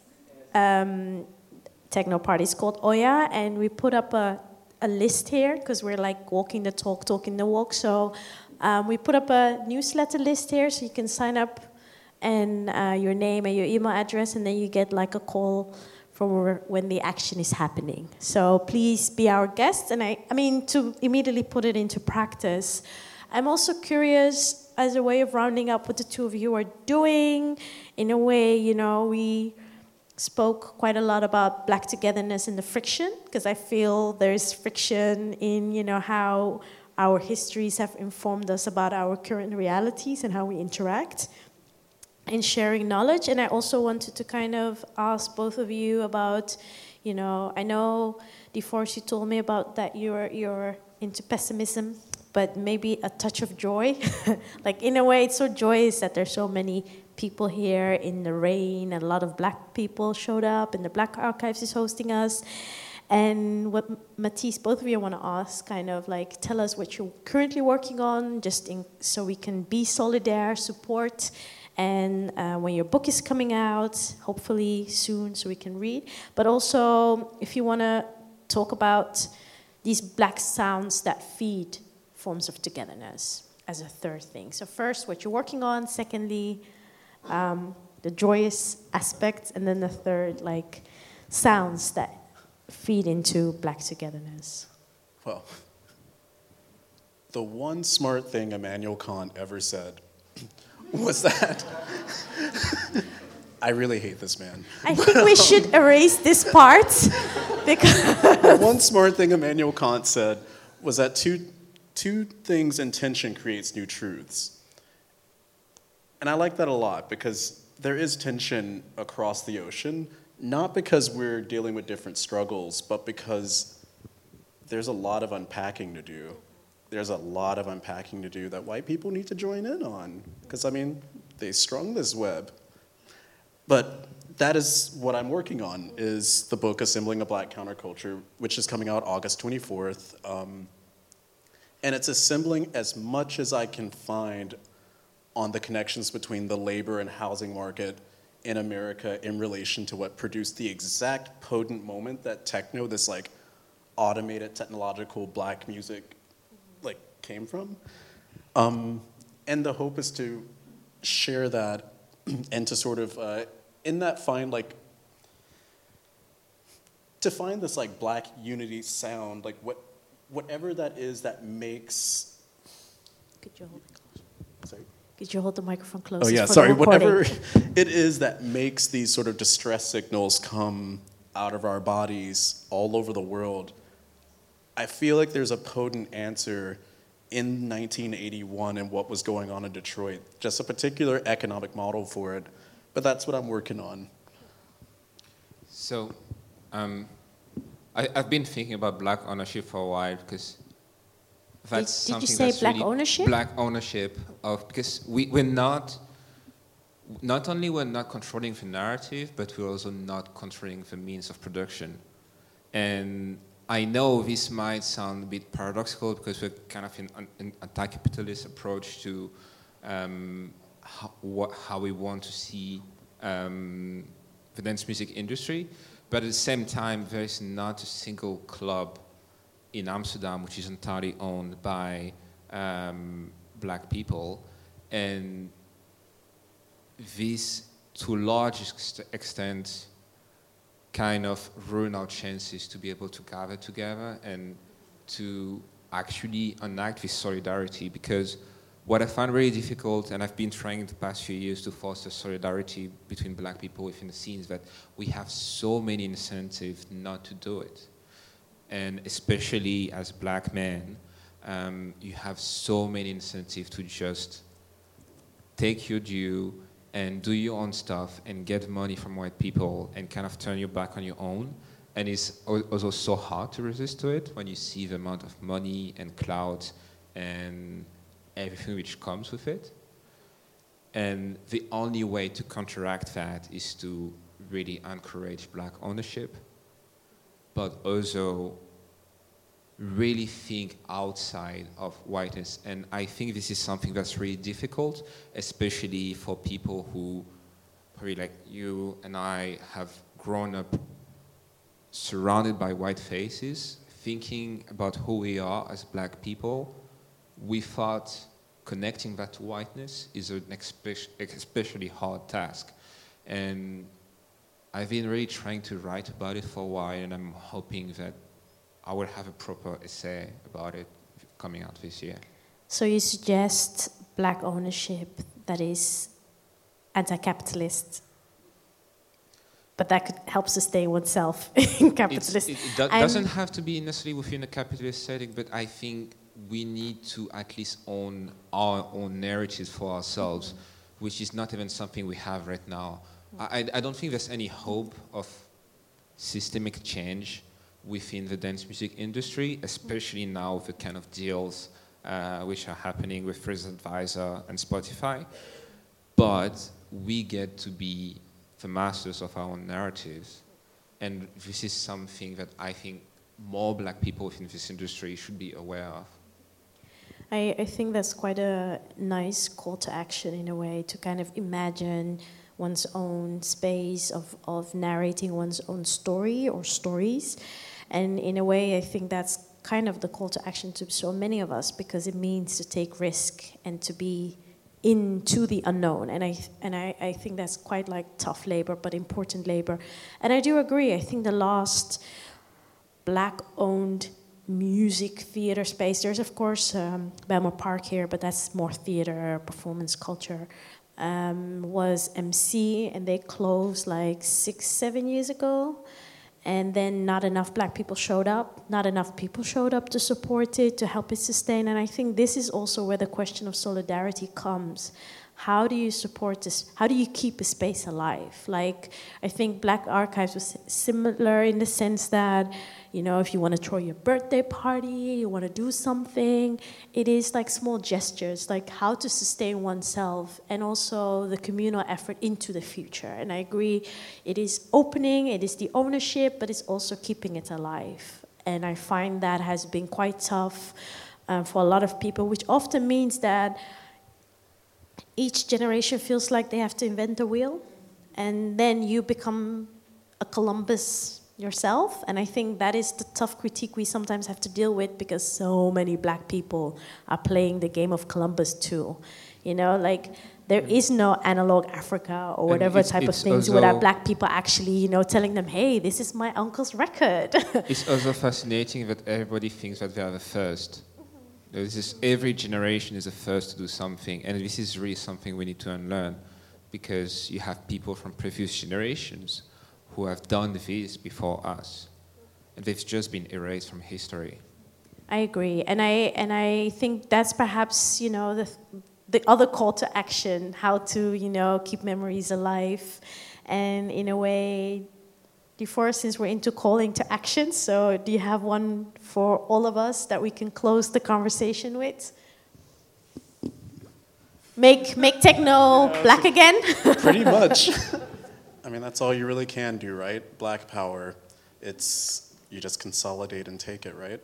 Speaker 4: um, techno party. It's called Oya, and we put up a, a list here because we're like walking the talk, talking the walk. So um, we put up a newsletter list here, so you can sign up and uh, your name and your email address, and then you get like a call from when the action is happening. So please be our guests. And I, I mean, to immediately put it into practice, I'm also curious, as a way of rounding up what the two of you are doing. In a way, you know, we spoke quite a lot about Black togetherness and the friction, because I feel there's friction in, you know, how our histories have informed us about our current realities and how we interact in sharing knowledge. And I also wanted to kind of ask both of you about, you know, I know, DeForest, you told me about that you're you're into pessimism, but maybe a touch of joy. Like, in a way, it's so joyous that there's so many people here in the rain, and a lot of black people showed up, and the Black Archives is hosting us. And what Matisse, both of you want to ask, kind of like tell us what you're currently working on, just in, so we can be solidaire, support, and uh, when your book is coming out, hopefully soon, so we can read. But also, if you want to talk about these black sounds that feed forms of togetherness as a third thing. So first, what you're working on. Secondly, um, the joyous aspects. And then the third, like, sounds that feed into black togetherness.
Speaker 5: Well, the one smart thing Immanuel Kant ever said was that... I really hate this man.
Speaker 4: I think we should erase this part, because...
Speaker 5: The one smart thing Immanuel Kant said was that two, two things in tension creates new truths. And I like that a lot, because there is tension across the ocean, not because we're dealing with different struggles, but because there's a lot of unpacking to do. There's a lot of unpacking to do that white people need to join in on. Because, I mean, they strung this web. But that is what I'm working on, is the book Assembling a Black Counterculture, which is coming out August twenty-fourth. Um, and it's assembling as much as I can find on the connections between the labor and housing market in America in relation to what produced the exact potent moment that techno, this like automated technological black music, like came from. Um, and the hope is to share that and to sort of, uh, in that find like, to find this like black unity sound, like what, whatever that is that makes.
Speaker 4: Could you hold it?
Speaker 5: Sorry.
Speaker 4: Could you hold the microphone closer?
Speaker 5: Oh yeah,
Speaker 4: for
Speaker 5: sorry.
Speaker 4: the
Speaker 5: Whatever it is that makes these sort of distress signals come out of our bodies all over the world, I feel like there's a potent answer in nineteen eighty-one and what was going on in Detroit. Just a particular economic model for it, but that's what I'm working on.
Speaker 6: So, um, I, I've been thinking about black ownership for a while, because that's
Speaker 4: did, did
Speaker 6: something
Speaker 4: you say
Speaker 6: that's
Speaker 4: black
Speaker 6: really
Speaker 4: ownership?
Speaker 6: Black ownership of, because we, we're not, not only we're not controlling the narrative, but we're also not controlling the means of production. And I know this might sound a bit paradoxical, because we're kind of in an anti-capitalist approach to um, how, what, how we want to see um, the dance music industry, but at the same time, there is not a single club in Amsterdam which is entirely owned by um, black people, and this, to a large ex extent, kind of ruin our chances to be able to gather together and to actually enact this solidarity. Because what I find really difficult, and I've been trying in the past few years to foster solidarity between black people within the scenes, that we have so many incentives not to do it. And especially as black men, um, you have so many incentives to just take your due and do your own stuff and get money from white people and kind of turn your back on your own. And it's also so hard to resist to it when you see the amount of money and clout and everything which comes with it. And the only way to counteract that is to really encourage black ownership, but also really think outside of whiteness. And I think this is something that's really difficult, especially for people who, probably like you and I, have grown up surrounded by white faces, thinking about who we are as black people. We thought connecting that to whiteness is an especially hard task. And I've been really trying to write about it for a while, and I'm hoping that I will have a proper essay about it coming out this year.
Speaker 4: So you suggest black ownership that is anti-capitalist, but that could help sustain oneself in capitalist.
Speaker 6: It's, it, it do doesn't have to be necessarily within a capitalist setting, but I think we need to at least own our own narratives for ourselves, mm-hmm. which is not even something we have right now. I, I don't think there's any hope of systemic change within the dance music industry, especially now with the kind of deals uh, which are happening with Freeze Advisor and Spotify. But we get to be the masters of our own narratives. And this is something that I think more black people within this industry should be aware of.
Speaker 4: I, I think that's quite a nice call to action in a way, to kind of imagine one's own space of, of narrating one's own story or stories. And in a way, I think that's kind of the call to action to so many of us, because it means to take risk and to be into the unknown. And I and I, I think that's quite like tough labor, but important labor. And I do agree, I think the last black-owned music theater space, there's of course um, Belmont Park here, but that's more theater, performance culture, um, was M C, and they closed like six, seven years ago. And then not enough black people showed up, not enough people showed up to support it, to help it sustain. And I think this is also where the question of solidarity comes. How do you support this? How do you keep a space alive? Like, I think Black Archives was similar in the sense that, you know, if you want to throw your birthday party, you want to do something, it is like small gestures, like how to sustain oneself and also the communal effort into the future. And I agree, it is opening, it is the ownership, but it's also keeping it alive. And I find that has been quite tough uh, for a lot of people, which often means that each generation feels like they have to invent the wheel, and then you become a Columbus yourself. And I think that is the tough critique we sometimes have to deal with, because so many black people are playing the game of Columbus too. You know, like there is no analog Africa or whatever
Speaker 6: it's,
Speaker 4: type
Speaker 6: it's
Speaker 4: of things
Speaker 6: also,
Speaker 4: without black people actually, you know, telling them, hey, this is my uncle's record.
Speaker 6: It's also fascinating that everybody thinks that they are the first. This is, every generation is the first to do something, and this is really something we need to unlearn, because you have people from previous generations who have done this before us, and they've just been erased from history.
Speaker 4: I agree, and I and I think that's perhaps, you know, the the other call to action, how to, you know, keep memories alive, and in a way, before, since we're into calling to action, so do you have one for all of us that we can close the conversation with? Make make techno yeah, black again?
Speaker 5: Pretty much. I mean, that's all you really can do, right? Black power. It's, you just consolidate and take it, right?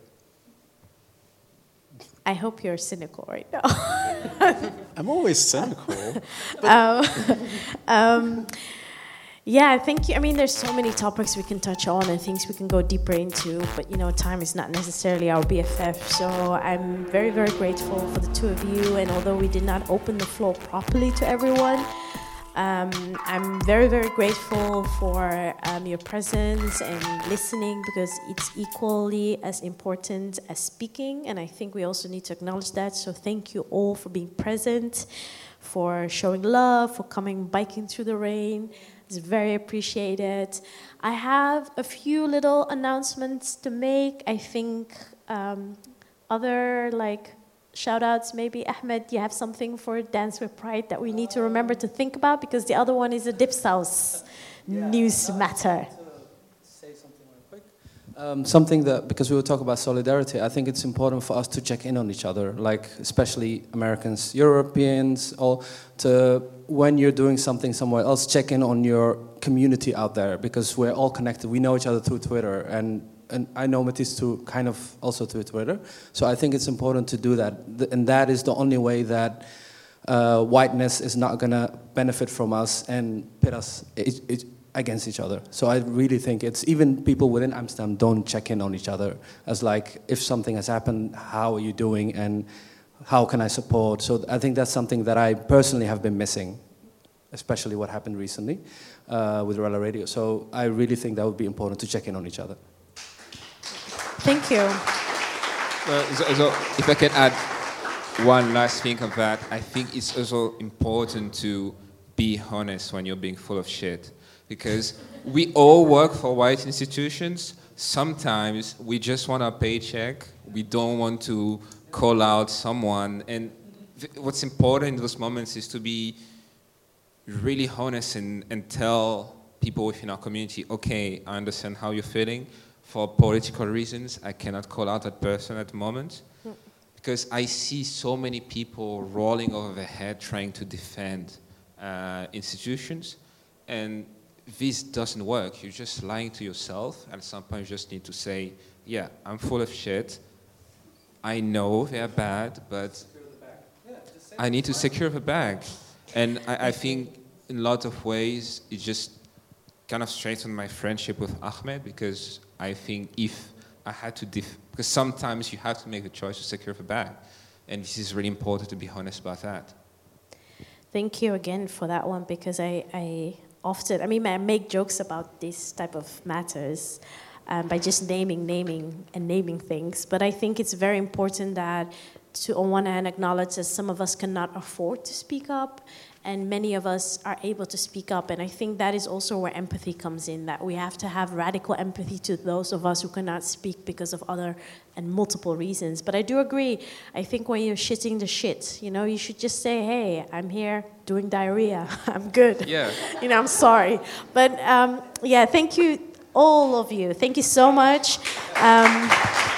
Speaker 4: I hope you're cynical right now.
Speaker 5: I'm always cynical.
Speaker 4: um, um, yeah, I think, I mean, there's so many topics we can touch on and things we can go deeper into, but, you know, time is not necessarily our B F F. So I'm very, very grateful for the two of you. And although we did not open the floor properly to everyone, Um, I'm very, very grateful for um, your presence and listening, because it's equally as important as speaking, and I think we also need to acknowledge that. So thank you all for being present, for showing love, for coming biking through the rain. It's very appreciated. I have a few little announcements to make. I think um, other like shout-outs, maybe Ahmed, you have something for Dance with Pride that we need to remember to think about, because the other one is a Dipsaus yeah, news matter.
Speaker 2: Say something real quick. Um, something that, because we were talking about solidarity, I think it's important for us to check in on each other, like especially Americans, Europeans, or to, when you're doing something somewhere else, check in on your community out there, because we're all connected. We know each other through Twitter, and And I know Matisse too, kind of also through Twitter. So I think it's important to do that. And that is the only way that uh, whiteness is not going to benefit from us and pit us it, it, against each other. So I really think it's, even people within Amsterdam don't check in on each other as like, if something has happened, how are you doing and how can I support? So I think that's something that I personally have been missing, especially what happened recently uh, with Rella Radio. So I really think that would be important to check in on each other.
Speaker 4: Thank you.
Speaker 6: Well, so, so if I can add one last thing of that, I think it's also important to be honest when you're being full of shit. Because we all work for white institutions. Sometimes we just want our paycheck. We don't want to call out someone. And th- what's important in those moments is to be really honest and, and tell people within our community, okay, I understand how you're feeling. For political reasons, I cannot call out that person at the moment, because I see so many people rolling over their head trying to defend uh, institutions, and this doesn't work. You're just lying to yourself, and at some point you just need to say, yeah, I'm full of shit. I know they're bad, but I need to secure the bag. And I, I think in a lot of ways it just kind of strengthened my friendship with Ahmed, because I think if I had to, def- because sometimes you have to make the choice to secure the bag. And this is really important to be honest about that.
Speaker 4: Thank you again for that one, because I, I often, I mean, I make jokes about this type of matters um, by just naming, naming, and naming things. But I think it's very important that to, on one hand, acknowledge that some of us cannot afford to speak up, and many of us are able to speak up. And I think that is also where empathy comes in, that we have to have radical empathy to those of us who cannot speak because of other and multiple reasons. But I do agree. I think when you're shitting the shit, you know, you should just say, hey, I'm here doing diarrhea. I'm good.
Speaker 6: Yeah.
Speaker 4: You know, I'm sorry. But um, yeah, thank you, all of you. Thank you so much. Um,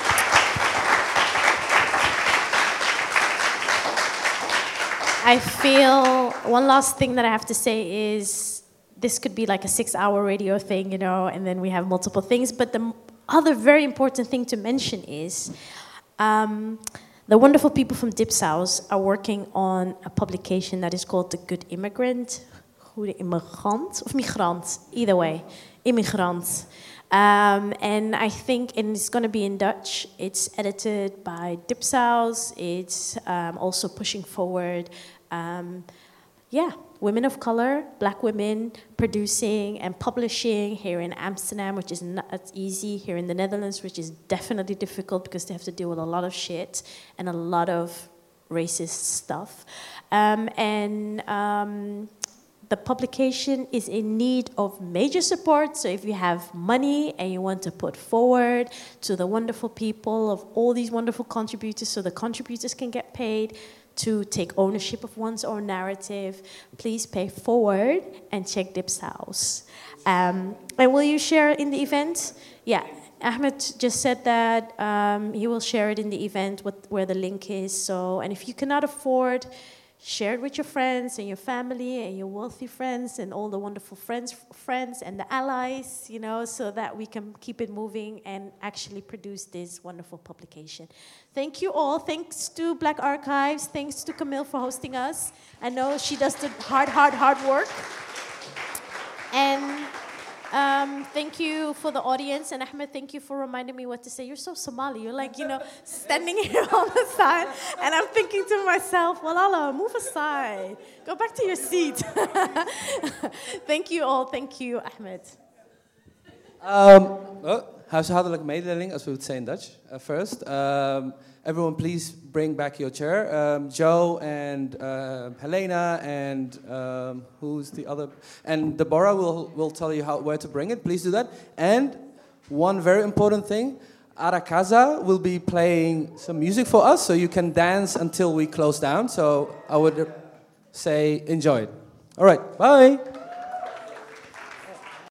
Speaker 4: I feel one last thing that I have to say is this could be like a six-hour radio thing, you know, and then we have multiple things. But the other very important thing to mention is um, the wonderful people from Dipsaus are working on a publication that is called The Good Immigrant. Goede immigrant of migrant, either way, immigrant. Um, and I think, and it's going to be in Dutch. It's edited by Dipsaus. It's um, also pushing forward, um, yeah, women of color, black women producing and publishing here in Amsterdam, which is not as easy. Here in the Netherlands, which is definitely difficult because they have to deal with a lot of shit and a lot of racist stuff. Um, and um, the publication is in need of major support, so if you have money and you want to put forward to the wonderful people of all these wonderful contributors, so the contributors can get paid to take ownership of one's own narrative, please pay forward and check Dipsaus. Um, and will you share in the event? Yeah, Ahmed just said that um, he will share it in the event what, where the link is. So, and if you cannot afford, share it with your friends and your family and your wealthy friends and all the wonderful friends friends and the allies, you know, so that we can keep it moving and actually produce this wonderful publication. Thank you all. Thanks to Black Archives. Thanks to Camille for hosting us. I know she does the hard, hard, hard work. And Um, thank you for the audience, and Ahmed, thank you for reminding me what to say. You're so Somali. You're like, you know, standing here on the side, and I'm thinking to myself, well, Allah, move aside. Go back to your seat. Thank you all. Thank you, Ahmed.
Speaker 2: Um, oh, huishoudelijke mededeling, as we would say in Dutch, uh, first. Um, everyone, please bring back your chair. Um, Joe and uh, Helena and um, who's the other? And Deborah will will tell you how where to bring it. Please do that. And one very important thing, Arakaza will be playing some music for us, so you can dance until we close down. So I would say enjoy it. All right, bye.